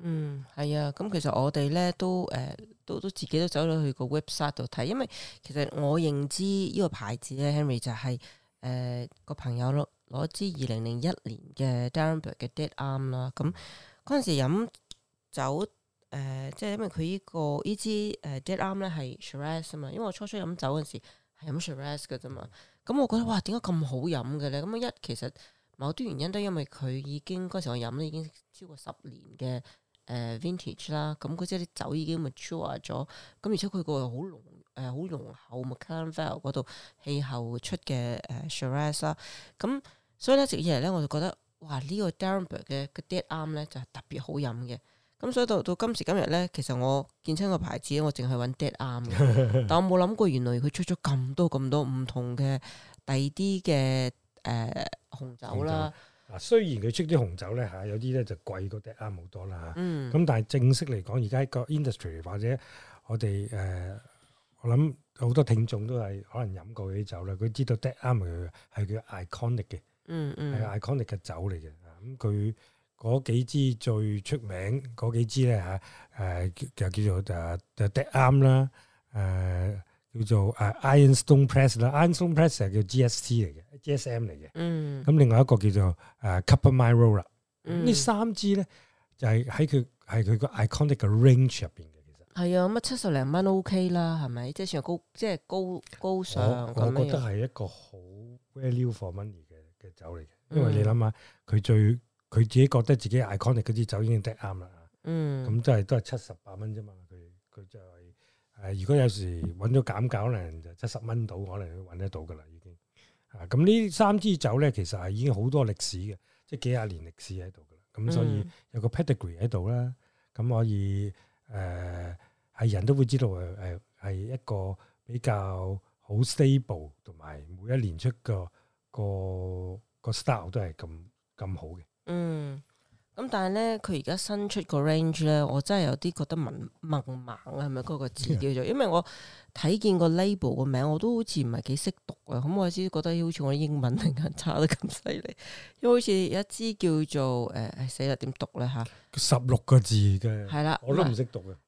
係啊，咁其實我哋咧都自己都走咗去個 website 度睇，因為其實我認知呢個牌子咧 Henry 就係個朋友攞支2001年嘅 Darenberg 嘅 Dead Arm 啦，咁嗰陣時飲酒即係因為佢呢支Dead Arm 咧係 Shiraz 啊嘛，因為我初飲酒嗰陣時係飲 Shiraz 嘅啫嘛，咁我覺得哇點解咁好飲嘅咧？咁其實某啲原因都因為佢已經嗰時我飲咧已經超過10年嘅。vintage 啦，咁嗰啲酒已經 mature 咗，咁而且佢個好濃好濃厚 McLaren Vale 嗰度氣候出嘅Shiraz 啦，咁所以咧直以嚟咧我就覺得哇呢個 Darenberg 嘅 Dead Arm 咧就係特別好飲嘅，咁所以到今時今日咧，其實我見親個牌子我淨係揾 Dead Arm 嘅，但我冇諗過原來佢出咗咁多唔同嘅第二啲嘅紅酒啦。 嗱，雖然佢出啲紅酒咧嚇，有啲咧就貴過 Dead Arm好多啦嚇。咁但係正式嚟講，而家個 industry 或者我哋我諗好多聽眾都係可能飲過嗰啲酒啦，佢知道 Dead Arm 係佢 iconic 嘅，係 iconic 嘅酒嚟嘅。咁佢嗰幾支最出名嗰幾支咧嚇，就叫做Dead Arm 啦，叫做Ironstone Press 啦 ，Ironstone Press 係叫 GST 嚟嘅 ，GSM 嚟嘅。咁另外一個叫做Cupper Mile 啦。呢三支咧就係佢個 iconic 嘅 range 入邊嘅，其實係啊，咁70零蚊 OK 啦，係咪？即係算係高尚。 我覺得係一個好 value for money 嘅酒嚟嘅，因為你諗下，佢自己覺得自己 iconic 嗰支酒已經得啱啦。咁都係70-80蚊啫嘛，佢就係。如果有時揾咗減價，可能就70蚊到，可能揾得到噶啦，已經。咁呢三支酒咧，其實係已經好多歷史嘅，即係幾廿年歷史喺度噶啦。咁所以有個 pedigree 喺度啦，咁可以係人都會知道係一個比較好 stable，同埋每一年出個 style 都係咁好嘅。 咁但係咧，佢而家新出個 range 咧，我真係有啲覺得蒙盲啊，係咪嗰個字叫做？因為我睇見個 label 個名，我都好似唔係幾識讀啊。咁我先覺得好似我啲英文突然間差得咁犀利，因為好似有一支叫做死啦點讀咧嚇 ？16個字嘅， 係啦， 我都唔識讀嘅。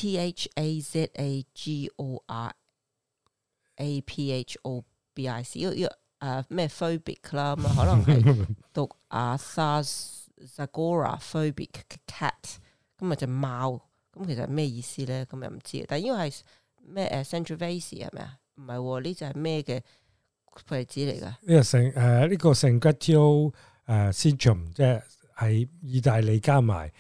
ATHAZAGORAPHOBIC 呢個咩 Phobic 啦，咁可能係讀Zagora-phobic cat， 咁咪隻貓，咁其實係咩意思咧？咁又唔知。但係呢個係咩Sangiovese 係咪啊？唔係喎，呢就係咩嘅牌子嚟㗎？ 呢個 San-Gotthard Segrum 即係意大利加埋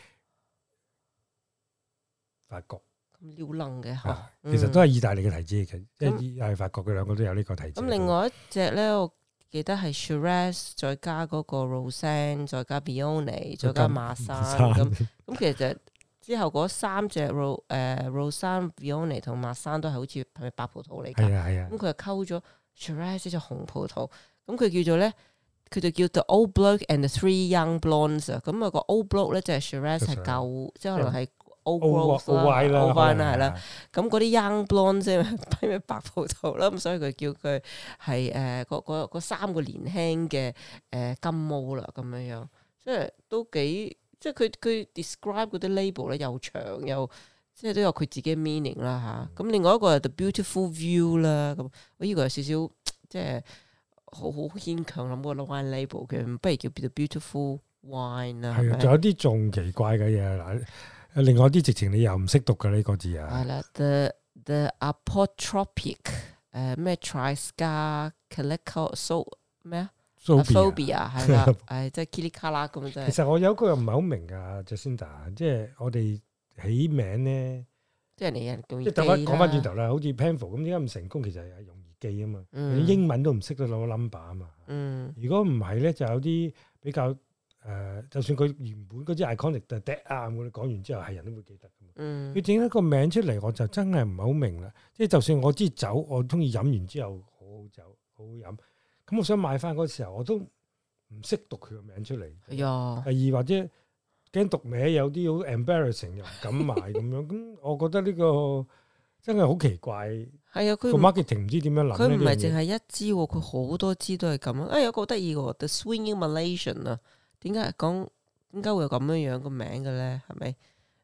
法國。 咁撩楞嘅嚇， 其實都係意大利嘅提子嚟嘅，即係意大利法國佢兩個都有呢個提子。 咁另外一隻咧，我記得係 Shiraz 再加嗰個 Roussanne 再加 Viognier 再加馬山咁其實之後嗰三隻 Roussanne Viognier 同馬山都係好似係咪白葡萄嚟㗎？係啊。咁佢又溝咗 Shiraz 呢隻紅葡萄，咁佢叫做咧，佢就叫 The Old Bloke and the Three Young Blondes 啊。咁啊個 Old Bloke 咧就係 Shiraz 係舊，即係可能係 Old Growth 啦 Old Vine 啦係啦。咁嗰啲 Young Blonde 即係咩白葡萄啦，咁所以佢叫佢係嗰三個年輕嘅金毛啦咁樣樣，即係都幾即係佢 describe 嗰啲 label 咧又長又即係都有佢自己嘅 meaning 啦嚇。咁另外一個係 The Beautiful View 啦，咁我呢個有少少即係好牽強諗個 wine label 嘅，不如叫 The Beautiful Wine 啦。係啊， 仲有啲仲奇怪嘅嘢嗱。另外啲直情你又唔識讀嘅呢個字啊？ 係啦 ，the apotropic 咩 Trisca calico so 咩啊 phobia 係啦，即係 Kili Kala 咁即係。 其實我有個又唔係好明㗎 Jacinda， 即係我哋起名咧， 即係人容易即係講翻轉頭啦，好似 Penfolds 咁點解唔成功？其實係容易記啊嘛，你英文都唔識得攞 number 啊嘛。如果唔係咧，就有啲比較。就算佢原本嗰支 iconic 就 Dead Arm，我哋講完之後係人都會記得噶嘛。佢整一個名出嚟，我就真係唔係好明啦。即係就算我知酒，我中意飲完之後好好酒，好好飲。咁我想買翻嗰時候，我都唔識讀佢個名出嚟。係啊。第二或者驚讀名有啲好 embarrassing 又唔敢買咁樣。咁我覺得呢個真係好奇怪。係啊，佢個 marketing 唔知點樣諗。 佢唔係淨係一支，佢好多支都係咁啊。有個好得意嘅 The Swinging Malaysian 啊。點解會有咁樣樣個名嘅咧？係咪？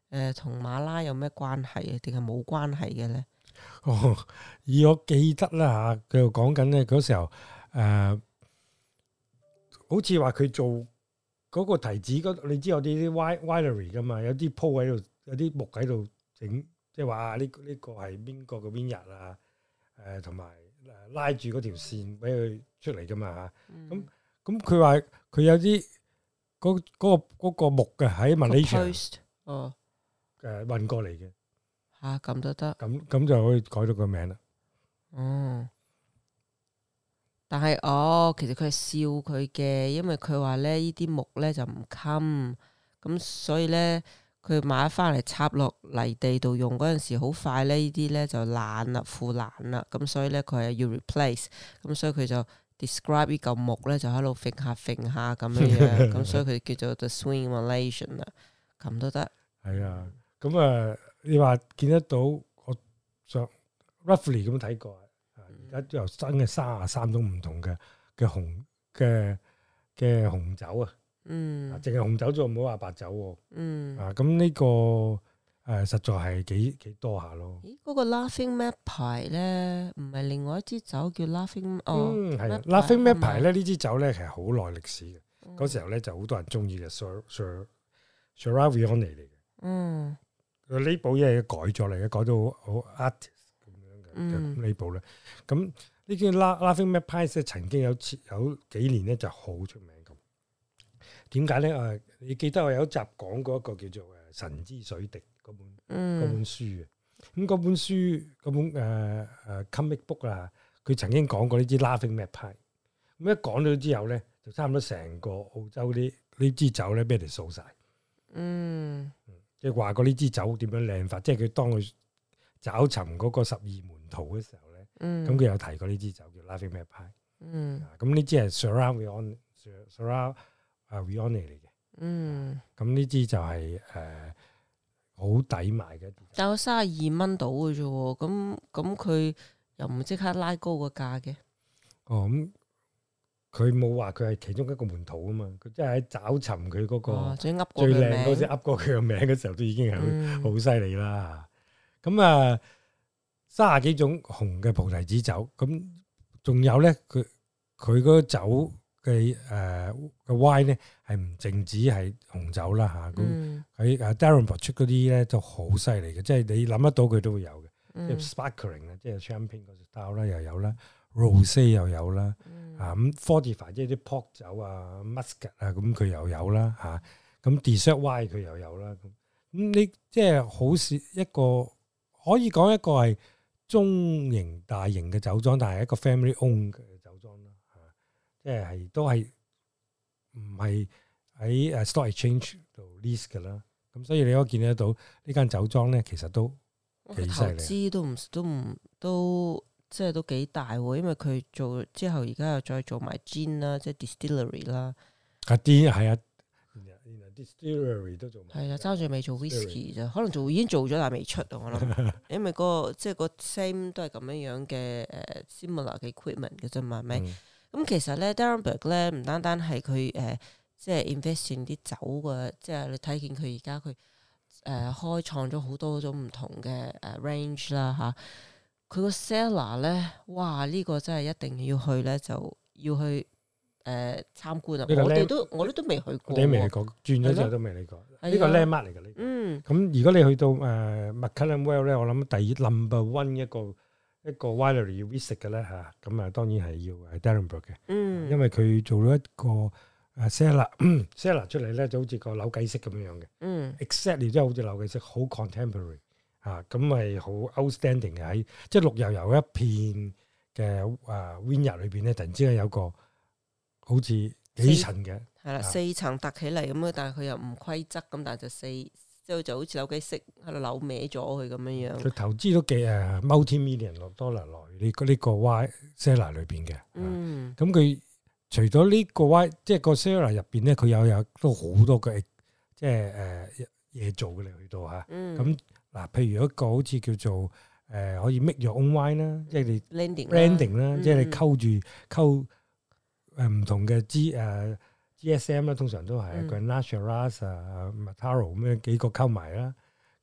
同馬拉有咩關係啊？定係冇關係嘅咧？ 以我記得啦嚇，佢又講緊咧嗰時候好似話佢做嗰個提子你知有啲 winery 噶嘛，有啲鋪喺度，有啲木喺度整，即係話呢個係邊個嘅 vineyard啊？同埋拉住嗰條線俾佢出嚟噶嘛嚇。咁佢話佢有啲嗰個木嘅喺 Malaysia 運過嚟嘅嚇，咁都得， 咁就可以改到個名啦。 但係其實佢係笑佢嘅，因為佢話咧呢啲木咧就唔襟，咁所以咧佢買翻嚟插落泥地度用嗰陣時，好快咧呢啲咧就爛啦、腐爛啦，咁所以咧佢係要 replace，咁所以佢就 describe 呢嚿木咧就喺度揈下咁樣，咁所以佢叫做 The Swing Malaysian 啦，咁都得。係啊，咁你話見得到我上 roughly 咁睇過。而家又新嘅33種唔同嘅紅酒啊，淨係紅酒啫，唔好話白酒喎。咁呢個實在係幾多下咯。咦， 嗰個 Laughing Map 牌咧，唔係另外一支酒叫 Laughing 係 Laughing Map 牌咧，呢支酒咧其實好耐歷史嘅。嗰時候咧就好多人中意嘅 Syrah Viognier 嚟嘅。個 label 嘢改咗嚟嘅，改到好 artist。呢部咧，咁呢啲 Laughing Magpie 曾經有幾年咧就好出名咁。點解咧？你記得我有一集講過一個叫做神之水滴嗰本書嘅。咁嗰本書嗰本comic book 啊，佢曾經講過呢支 Laughing Magpie。咁一講咗之後咧，就差唔多成個澳洲呢支酒咧俾人哋掃晒。即係話過呢支酒點樣靚法，即係佢當佢找尋嗰個12門徒嘅時候咧，咁佢有提過呢支酒叫 Laughing Magpie。咁呢支係 Syrah Viognier 嚟嘅。咁呢支就係好抵買嘅。 但係32蚊到嘅啫喎，咁佢又唔即刻拉高個價嘅。 咁佢冇話佢係其中一個門徒啊嘛，佢即係喺找尋佢嗰個最靚嗰隻噏過佢個名嘅時候，都已經係好犀利啦。咁30幾種紅嘅菩提子酒，咁仲有咧，佢嗰個酒嘅wine咧係唔淨止係紅酒啦嚇，咁喺Darenport 出嗰啲咧都好犀利嘅，即係你諗得到佢都會有嘅，即係 sparkling 啊，即係 champagne 嗰隻 style 啦又有啦，rosé 又有啦，咁 fortified 即係啲 port 酒啊 muscat 啊咁佢又有啦嚇，咁 dessert wine 佢又有啦，咁你即係好似一個可以講一個係中型大型嘅酒莊，但係一個 family owned 嘅酒莊啦，即係都係唔係喺stock exchange 度 list 嘅啦。咁所以你可以見得到呢間酒莊咧，其實都幾犀利。 投資都即係都幾大喎，因為佢做之後而家又再做埋 gin 啦，即係 distillery 啦。 啲係啊。distillery 都做埋， 係啊，爭住未做 whisky 啫，可能已經做咗，但係未出啊。我諗，因為即係個 same 都係咁樣嘅similar 嘅 equipment 嘅啫嘛，係咪？咁其實咧 Darenberg 咧唔單單係佢即係 invest in 啲酒嘅，即係你睇見佢而家佢開創咗好多種唔同嘅range 啦嚇。佢個 cellar 咧，哇！呢個真係一定要去咧，就要去。參觀啊！我哋都未去過， 你未去過，轉咗之後都未去過。呢個 landmark 嚟㗎呢。咁如果你去到McLaren Vale 咧，我諗第一 number one 一個 winery 要 visit 嘅咧嚇，咁當然係要係 Darenberg 嘅。因為佢做咗一個cellar 出嚟咧，就好似個扭計式咁樣嘅。exactly 即係好似扭計式，好 contemporary 嚇，咁係好 outstanding 嘅喺即係綠油油一片嘅vineyard 裏邊咧，突然之間有個好似幾層嘅， 係啦，4層凸起嚟咁樣，但係佢又唔規則咁，但係即係就好似扭計式喺度扭歪咗佢咁樣樣。佢投資都幾multi-million $落呢個 wine cellar 裏邊嘅。咁佢除咗呢個 wine，即係個 cellar 入邊咧，佢有都好多嘅即係嘢做嘅嚟去到嚇。咁嗱，譬如一個好似叫做可以 make your own wine 啦，即係你 blending 啦，即係你溝唔同嘅GSM 啦，通常都係 Grenache、Shiraz、Mataro 咁樣幾個溝埋啦。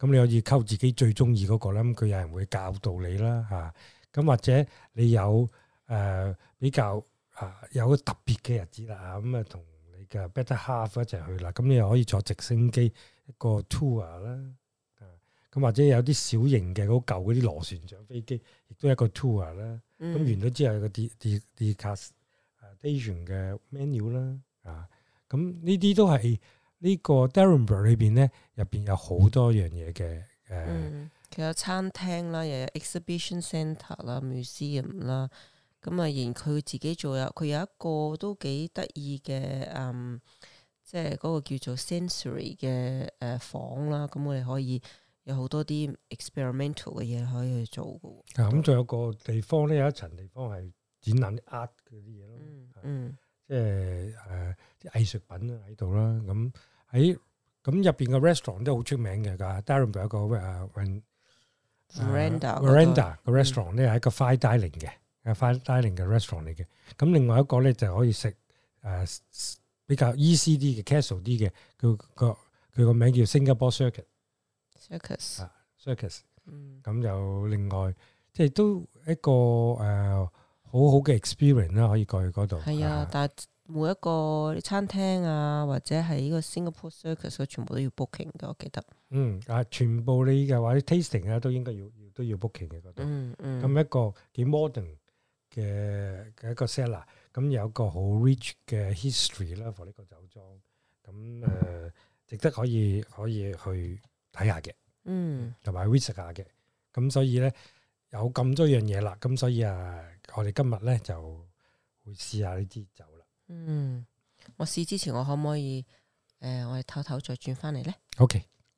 咁你可以溝自己最中意嗰個啦。咁佢有人會教導你啦嚇。咁或者你有比較有個特別嘅日子啦，咁啊同你嘅 better half 一齊去啦。咁你又可以坐直升機一個 tour 啦。咁或者有啲小型嘅好舊嗰啲螺旋槳飛機，亦都係一個 tour 啦。咁完咗之後有個 degustation 嘅 menu 啦。咁呢啲都係呢個 Derrenburg 裏邊咧，入邊有好多樣嘢嘅。 佢有餐廳啦，又有 exhibition centre 啦、museum 啦。咁啊，然佢自己佢有一個都幾得意嘅，即係嗰個叫做 sensory 嘅房啦。咁我哋可以有好多啲 experimental 嘅嘢可以去做嘅。 咁仲有個地方咧，有一層地方係展覽啲 art 嗰啲嘢咯。即係啲藝術品喺度啦。咁入邊嘅 restaurant 都好出名嘅。Derrenburg 有個Veranda 個 restaurant 咧係一個 fine dining 嘅，fine dining 嘅 restaurant 嚟嘅。咁另外一個咧就可以食比較 easy 啲嘅 casual 啲嘅，佢個名叫 Singapore Circus。咁就另外即係都一個好好嘅 experience 啦，可以過去嗰度。 係啊，但係每一個餐廳啊，或者係呢個 Singapore Circus， 全部都要 booking 嘅，我記得。 全部你嘅話啲 tasting 啊，都應該都要 booking 嘅嗰度。咁一個幾 modern 嘅一個 cellar， 咁有個好 rich 嘅 history 啦，for 呢個酒莊。咁值得可以去睇下嘅。同埋 visit 下嘅。咁所以咧有咁多樣嘢啦，咁所以我哋今日咧就會試下呢支酒啦。 我試之前我可唔可以我哋唞唞再轉翻嚟咧 ？OK。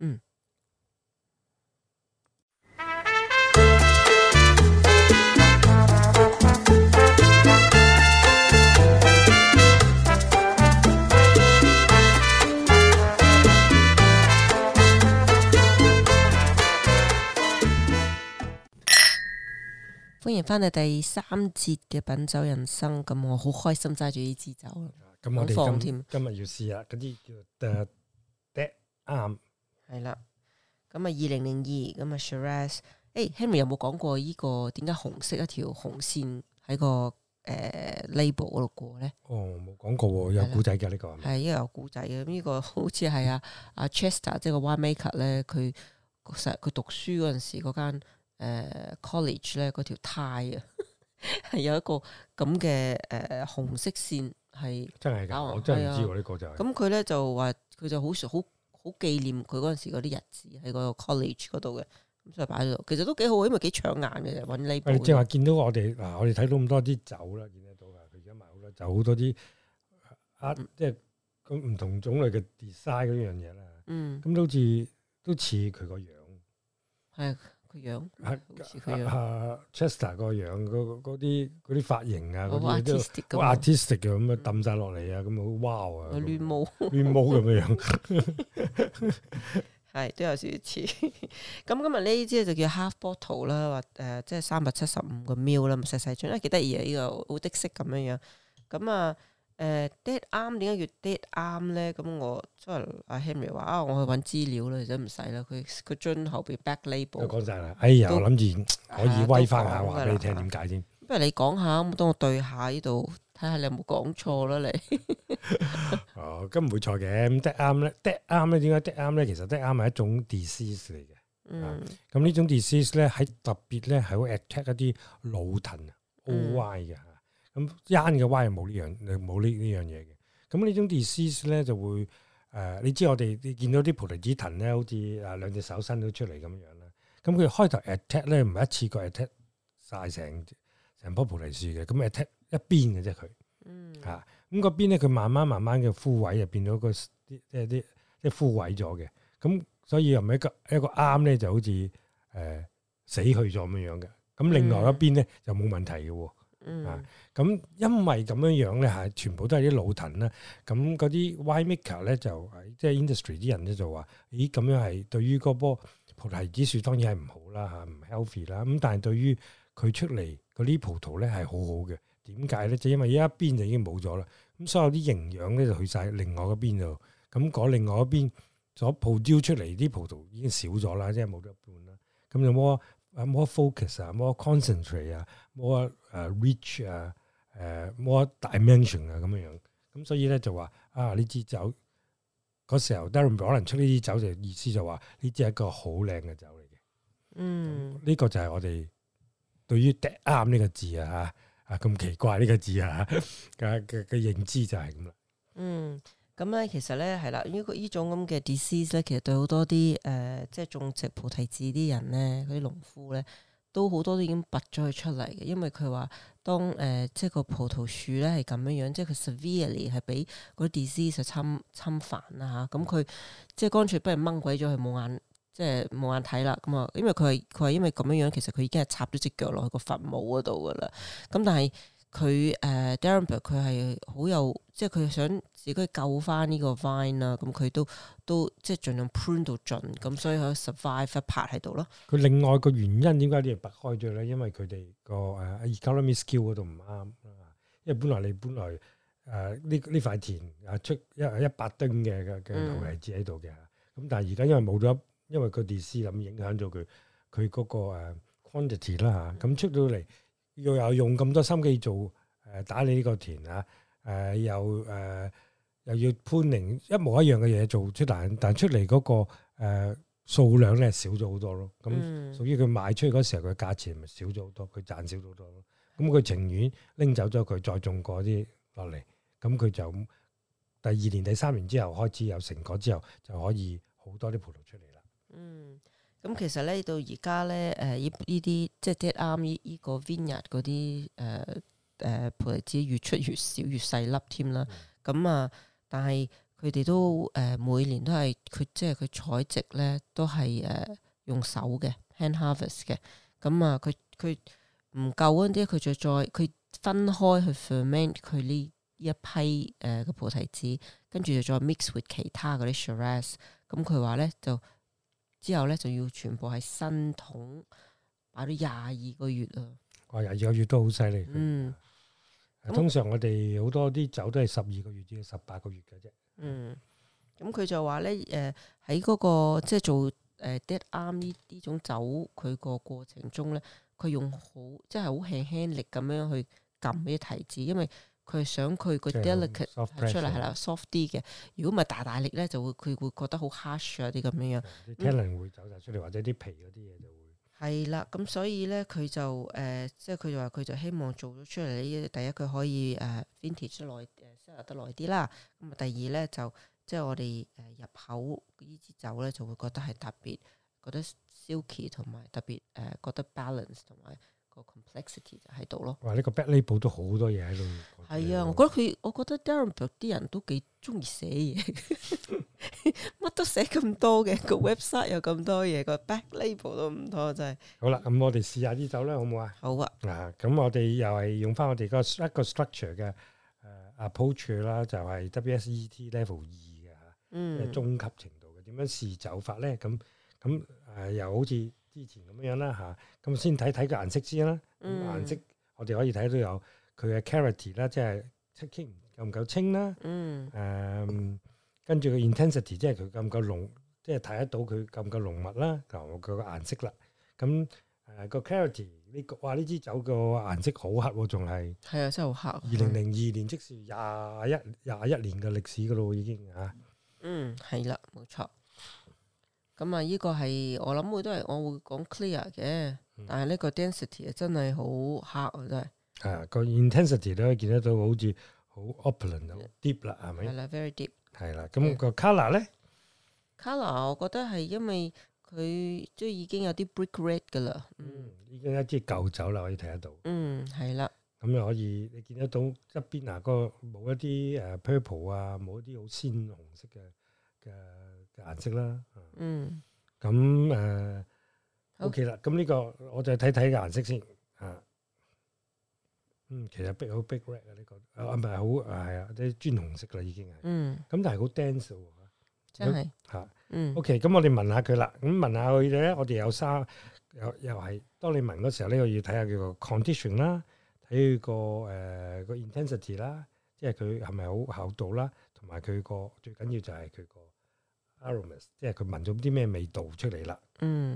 歡迎翻嚟第3節嘅品酒人生，咁我好開心揸住呢支酒啦。 咁我哋今日要試下嗰啲叫 Dead Arm。係啦，咁2002咁Shiraz。Henry 有冇講過呢個點解紅色一條紅線喺個label 嗰度過咧？ 冇講過喎，有古仔嘅呢個。 係，因為有古仔嘅。呢個好似係阿 Chester 即係個 winemaker 咧，佢讀書嗰陣時嗰間college 咧，嗰條 tie 啊，係有一個咁嘅紅色線係真係㗎，我真係唔知喎呢個就係。 咁佢咧就話佢就好紀念佢嗰陣時嗰啲日子喺嗰個 college 嗰度嘅，咁所以擺喺度。其實都幾好，因為幾搶眼嘅揾呢部。 即係話見到我哋我哋睇到咁多啲酒啦，見得到㗎。佢而家賣好多酒，好多啲即係咁唔同種類嘅 design 嗰樣嘢啦。咁都似佢個樣。 係。樣 Chester 個樣嗰啲髮型啊，嗰啲都好 artistic 嘅，咁啊抌晒落嚟啊，咁好 wow 啊，亂毛咁樣， 係都有少少似。咁今日呢支就叫 half bottle 啦，或即係375個 ml 啦，咁細細樽，幾得意啊！呢個好的色咁樣樣。咁Dead Arm 點解叫 Dead Arm 咧？咁我即係阿 Henry 話我去揾資料啦，其實唔使啦。佢樽後邊 back label 都講晒啦。我諗住可以威翻下話俾你聽點解先。 不如你講下，咁當我對下呢度，睇下你有冇講錯啦你。 咁唔會錯嘅。咁 Dead Arm 咧，Dead Arm 咧，點解 Dead Arm 咧？其實 Dead Arm 係一種 disease 嚟嘅。咁呢種 disease 咧，喺特別咧係會 attack 一啲老藤 OY 嘅。咁 young 嘅 Y 冇呢樣嘢嘅。咁呢種 disease 咧就會你知我哋見到啲菩提子藤咧，好似兩隻手伸到出嚟咁樣啦。咁佢開頭 attack 咧唔係一次過 attack 晒成棵菩提樹嘅，咁 attack 一邊嘅啫佢。咁嗰邊咧佢慢慢嘅枯萎，就變咗即係枯萎咗嘅。咁所以又唔係一個啱咧，就好似死去咗咁樣嘅。咁另外一邊咧就冇問題嘅喎。咁因為咁樣咧係全部都係啲老藤啦，咁嗰啲 winemaker 咧就即係 industry 啲人咧就話，咦咁樣係對於嗰棵菩提子樹當然係唔好啦嚇，唔 healthy 啦。咁但係對於佢出嚟嗰啲葡萄咧係好好嘅。點解咧？就因為一邊就已經冇咗啦，咁所有啲營養咧就去晒另外嗰邊度。咁嗰另外嗰邊所 produce 出嚟啲葡萄已經少咗啦，即係冇咗一半啦。咁就 more focus 啊，more concentrate 啊，more rich 啊，more dimension 啊咁樣。咁所以咧就話呢支酒嗰時候 Darren 可能出呢支酒就意思就話呢支係一個好靚嘅酒嚟嘅。呢個就係我哋對於 dead arm 呢個字啊咁奇怪呢個字啊嘅認知就係咁啦。 咁咧其實咧係啦，呢種咁嘅 disease 咧，其實對好多啲即係種植菩提子啲人咧，嗰啲農夫咧，都好多都已經拔咗佢出嚟嘅，因為佢話當即係個葡萄樹咧係咁樣，即係佢 severely 係俾嗰啲 disease 侵犯啦嚇，咁佢即係乾脆不如掹鬼咗佢冇眼，即係冇眼睇啦。咁啊，因為佢話因為咁樣，其實佢已經係插咗隻腳落去個墳墓嗰度噶啦。咁但係佢Darren 佢係好有，即係佢想自己救翻呢個 vine 啦。咁佢都即係盡量 prune 到盡，咁所以佢 survive 一拍喺度咯。 佢另外個原因點解啲人拔開咗咧？因為佢哋個economic skill 嗰度唔啱。因為本來呢塊田出100噸嘅葡提子喺度嘅，咁但係而家因為冇咗，因為個 disease 咁影響咗佢嗰個quantity 啦嚇，咁出到嚟又用咁多心機做打理呢個田啊，又要 pruning 一模一樣嘅嘢做出，但出嚟嗰個數量咧少咗好多咯。咁屬於佢賣出去嗰時候，佢價錢咪少咗好多，佢賺少咗好多咯。咁佢情願拎走咗佢，再種過啲落嚟，咁佢就第2年、第3年之後開始有成果之後，就可以好多啲葡萄出嚟啦。 咁其實咧到而家咧，呢啲即係 dead arm 呢個 vineyard 嗰啲葡提子越出越少越細粒添啦。咁但係佢哋都每年都係即係佢採植咧都係用手嘅 hand harvest 嘅。咁佢唔夠嗰啲，佢就再佢分開去 ferment 佢呢一批嘅葡提子，跟住就再 mix with 其他嗰啲 Shiraz。咁佢話咧就之後咧就要全部喺新桶擺咗22個月啊！ 哇，22個月都好犀利。通常我哋好多啲酒都係12個月至18個月嘅啫。 咁佢就話咧喺嗰個即係做dead arm 呢種酒，佢個過程中咧，佢用即係好輕輕力咁樣去撳啲提子，因為佢係想佢個 delicate 出嚟係啦 soft 啲嘅。如果唔係大力咧，佢會覺得好 harsh 啊啲咁樣。 啲 tannin 會走晒出嚟，或者啲皮嗰啲嘢就會係啦。咁所以咧，佢就即係佢就話佢就希望做咗出嚟呢，第一佢可以vintage 得耐，sell 得耐啲啦。咁啊，第二咧就即係我哋入口呢支酒咧，就會覺得係特別覺得 silky 同埋特別覺得 balance 同埋個 complexity 就喺度咯。 哇！呢個 back label 都好多嘢喺度。 係啊，我覺得 Darren 啲人都幾中意寫嘢，乜都寫咁多嘅，個 website 有咁多嘢，個 back label 都唔多，真係。好啦，咁我哋試下啲酒啦，好唔好啊？ 好啊。 咁我哋又係用翻我哋一個 structure 嘅approach 啦，就係 WSET level 2嘅嚇，即係中級程度嘅。點樣試酒法咧？咁又好似之前咁樣啦嚇。咁先睇個顏色先啦。顏色我哋可以睇到有佢嘅 clarity 啦，即係清夠唔夠清啦。跟住個 intensity，即係佢夠唔夠濃，即係睇得到佢夠唔夠濃密啦。佢個顏色啦。咁個 clarity 呢支酒個顏色好黑喎，仲係啊，真係好黑。 2002年即是21年嘅歷史噶咯，已經嚇。 係啦，冇錯。咁呢個係我諗我會講 clear 嘅，但係呢個 density 真係好黑啊，真係。 係個 intensity 都可以見得到，好似好 opulent 好 deep 啦，係咪？ 係啦 ，very deep。 係啦，咁個 colour 咧 ？colour 我覺得係因為佢即係已經有啲 brick red 噶啦。 已經一支舊酒啦，可以睇得到。 係啦。 咁又可以你見得到側邊個冇一啲purple 啊，冇一啲好鮮紅色嘅顏色啦。咁OK 啦，咁呢個我就睇個顏色先啊。其實好 big red 啊，呢個唔係好係啊，啲磚紅色啦已經係。咁但係好 dense 喎， 真係嚇。OK，咁我哋聞下佢啦。咁聞下佢咧，我哋有又係當你聞嗰時候呢，我要睇下佢個 condition 啦，睇佢個 intensity 啦，即係佢係咪好厚度啦，同埋佢個最緊要就係佢個 aromas， 即係佢聞咗啲咩味道出嚟啦。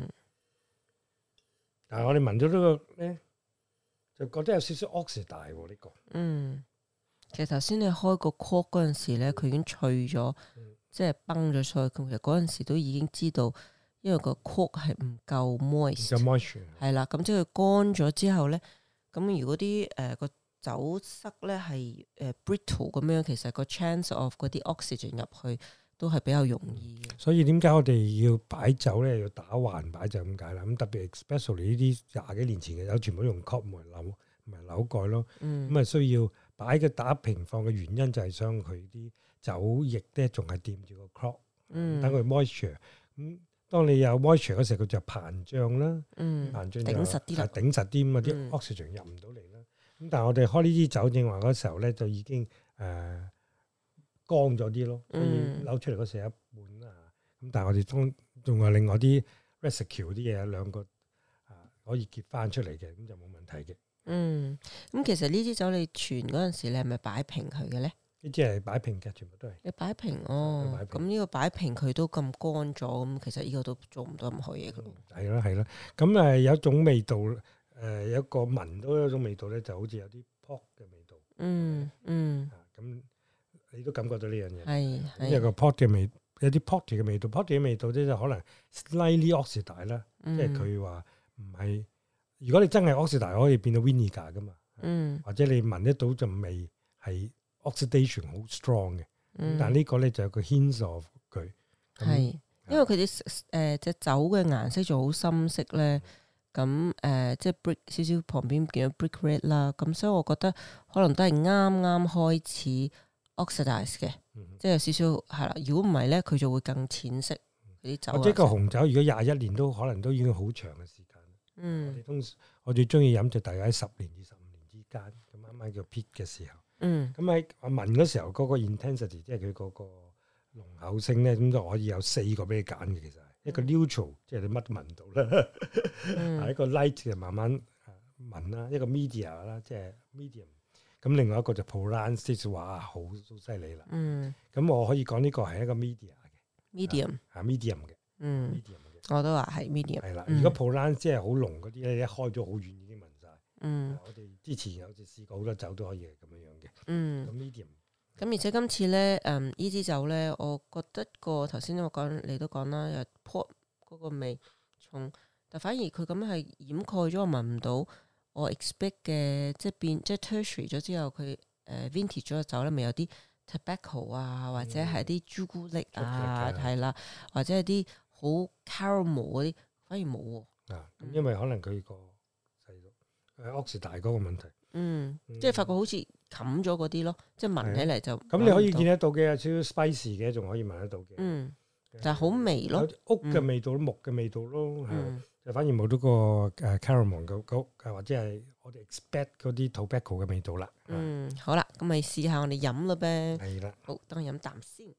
但係我哋聞咗呢個咧，就覺得有少少 oxide 喎呢個。 其實頭先你開個 cork 嗰陣時咧，佢已經脆咗，即係崩咗出去。其實嗰陣時都已經知道，因為個 cork 係唔夠 moist， 係啦。咁即係佢乾咗之後咧，咁如果啲個酒塞咧係brittle 咁樣，其實個 chance of 嗰啲 oxygen 入去都係比較容易嘅。所以點解我哋要擺酒咧，要打橫擺就咁解啦。咁特別 especially 呢啲廿幾年前嘅酒，全部都用 cork 唔係扭蓋咯。咁啊需要擺嘅打平放嘅原因就係想佢啲酒液咧仲係掂住個 cork，等佢 moisture。咁當你有 moisture 嗰時候，佢就膨脹啦，膨脹就頂實啲啦，頂實啲咁啊啲 oxygen 入唔到嚟啦。咁但係我哋開呢支酒正話嗰時候咧，就已經乾咗啲咯，所以扭出嚟嗰時一半啊。咁但係我哋仲有另外啲 residue 啲嘢，兩個可以結翻出嚟嘅，咁就冇問題嘅。 咁其實呢支酒你傳嗰陣時，你係咪擺平佢嘅咧？ 呢支係擺平嘅，全部都係。你擺平哦，咁呢個擺平佢都咁乾咗，咁其實呢個都做唔到任何嘢嘅咯。 係啦，咁有一種味道。有一個聞到一種味道咧，就好似有啲 pork 嘅味道。咁你都感覺到呢樣嘢。係。有個 pork 嘅味，有啲 pork 嘅味道。pork 嘅味道咧就可能 slightly oxide 啦，即係佢話唔係。如果你真係 oxide，可以變到 vinegar 噶嘛。或者你聞得到陣味係 oxidation 好 strong 嘅。但係呢個咧就有個 hint of 佢。 係，因為佢啲隻酒嘅顏色就好深色咧。咁即係 brick 少少旁邊見到 brick red 啦，咁所以我覺得可能都係啱啱開始 oxidize 嘅，即係有少少係啦。如果唔係咧，佢就會更淺色嗰啲酒。 或者個紅酒如果21年都可能都已經好長嘅時間。我最中意飲就大概喺10年至15年之間，咁啱啱叫 peak 嘅時候。咁喺我聞嗰時候嗰個 intensity， 即係佢嗰個濃厚性咧，咁就可以有4個俾你揀嘅其實。一個 neutral，即係你乜都聞唔到啦。一個 light 嘅慢慢聞啦，一個 media 啦，即係 medium。咁另外一個就 Provence，即係話好犀利啦。咁我可以講呢個係一個 media 嘅 medium 嘅。medium 嘅。 我都話係 medium。 係啦，如果 Provence 即係好濃嗰啲咧，一開咗好遠已經聞晒。我哋之前有次試過好多酒都可以係咁樣樣嘅。咁 medium。 咁而且今次咧，呢支酒咧，我覺得個頭先我講你都講啦，有 port 嗰個味重，但反而佢咁樣係掩蓋咗，我聞唔到我 expect 嘅，即係 tertiary 咗之後，佢vintage 咗嘅酒咧，咪有啲 tobacco 啊，或者係啲朱古力啊，係啦，或者係啲好 caramel 嗰啲，反而冇喎。 咁因為可能佢個細路oxide 嗰個問題。 即係發覺好似冚咗嗰啲咯，即係聞起嚟就咁你可以見得到嘅，有少少 spicy 嘅，仲可以聞得到嘅。 但係好微咯， 屋嘅味道、木嘅味道咯，就反而冇到個caramel 或者係我哋 expect 嗰啲 tobacco 嘅味道啦。 好啦，咁咪試下我哋飲啦唄。 係啦， 好，等我飲啖先。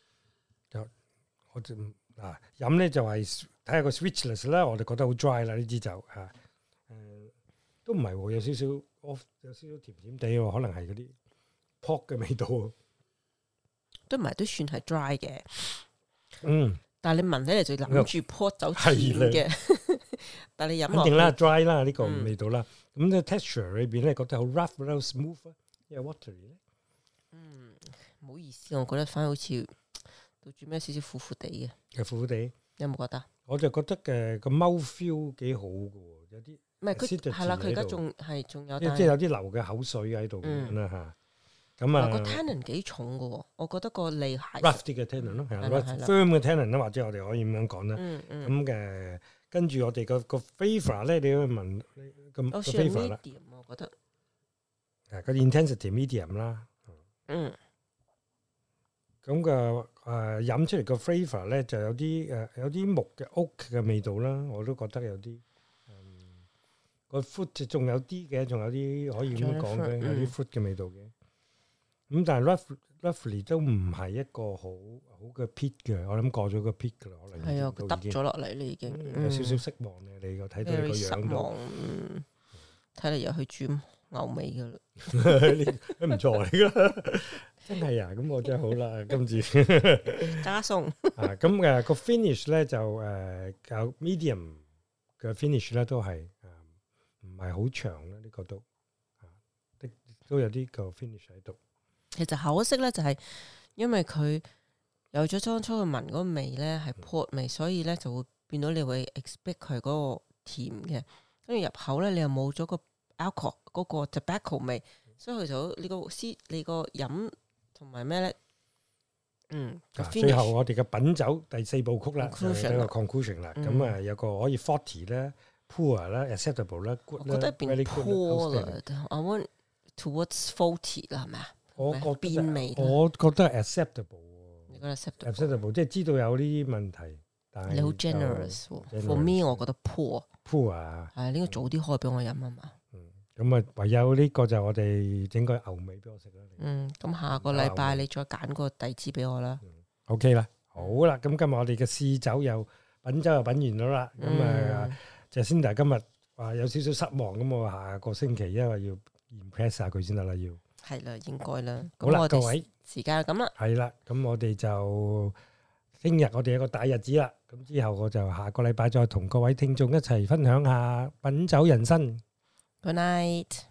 我就飲咧就係睇下個 sweetness 啦，我哋覺得好 dry 啦呢支酒嚇。都唔係喎，有少少甜甜地喎，可能係嗰啲 pork 嘅味道。 都唔係，都算係 dry 嘅。但係你聞起嚟就諗住 pork 酒甜嘅。但係你飲落，肯定啦 dry 啦呢個味道啦。咁個 texture 裏邊咧覺得好 rough 啦 smooth，因為 watery 咧。 唔好意思，我覺得反而好似到最尾少少苦苦地嘅。 苦苦地， 有冇覺得？ 我就覺得嘅個 mouth feel 幾好嘅喎，有啲。 唔係佢係啦，佢而家仲有， 即係有啲流嘅口水喺度咁樣啦嚇。咁個 tannin 幾重嘅喎，我覺得個脷係 rough 啲嘅 tannin 咯，firm 嘅 tannin 啦，或者我哋可以咁樣講啦。咁嘅跟住我哋個 flavour 咧，你要聞咁個 flavour 啦。 我覺得個 intensity medium 啦。咁個飲出嚟個 flavour 咧就有啲木嘅 oak 嘅味道啦，我都覺得有啲。個 fruit 仲有啲嘅，仲有啲可以咁樣講嘅，有啲 fruit 嘅味道嘅。咁但係 roughly 都唔係一個好嘅 peak 嘅，我諗過咗個 peak 噶啦，可能係啊，佢耷咗落嚟你已經有少少失望嘅，你個睇到你個樣都睇嚟又去煮牛尾噶啦， 唔錯嚟噶。 真係啊！咁我真係好啦，今次加送啊！咁個 finish 咧就較 medium 嘅 finish 咧都係唔係好長啦，呢個都有啲個 finish 喺度。 其實可惜咧，就係因為佢有咗當初嘅聞嗰個味咧係 port 味，所以咧就會變到你會 expect 佢嗰個甜嘅，跟住入口咧你又冇咗個 alcohol 嗰個 tobacco 味，所以佢就你個飲同埋咩咧？ 最後我哋嘅品酒第4部曲啦，就係呢個 conclusion 啦。咁有個可以 forty 咧 ，poor 啦 ，acceptable 啦 ，good 啦， 我覺得變 poor 啦 ，I want towards faulty 啦，係咪啊？ 我覺得變味， 我覺得 acceptable。 你覺得 acceptable 即係知道有呢啲問題，但係你好 generous。For me， 我覺得 poor 啊， 係呢個早啲開俾我飲啊嘛。 咁啊，唯有呢個就我哋整個牛尾俾我食啦。 咁下個禮拜你再揀個第支俾我啦。 OK 啦，好啦，咁今日我哋嘅試酒又品酒又品完咗啦。咁Jacinda今日話有少少失望，咁我下個星期因為要 impress 下佢先得啦，要係啦，應該啦。 好啦，各位時間就咁啦。 係啦，咁我哋就聽日我哋有個大日子啦。咁之後我就下個禮拜再同各位聽眾一齊分享下品酒人生。 Good night。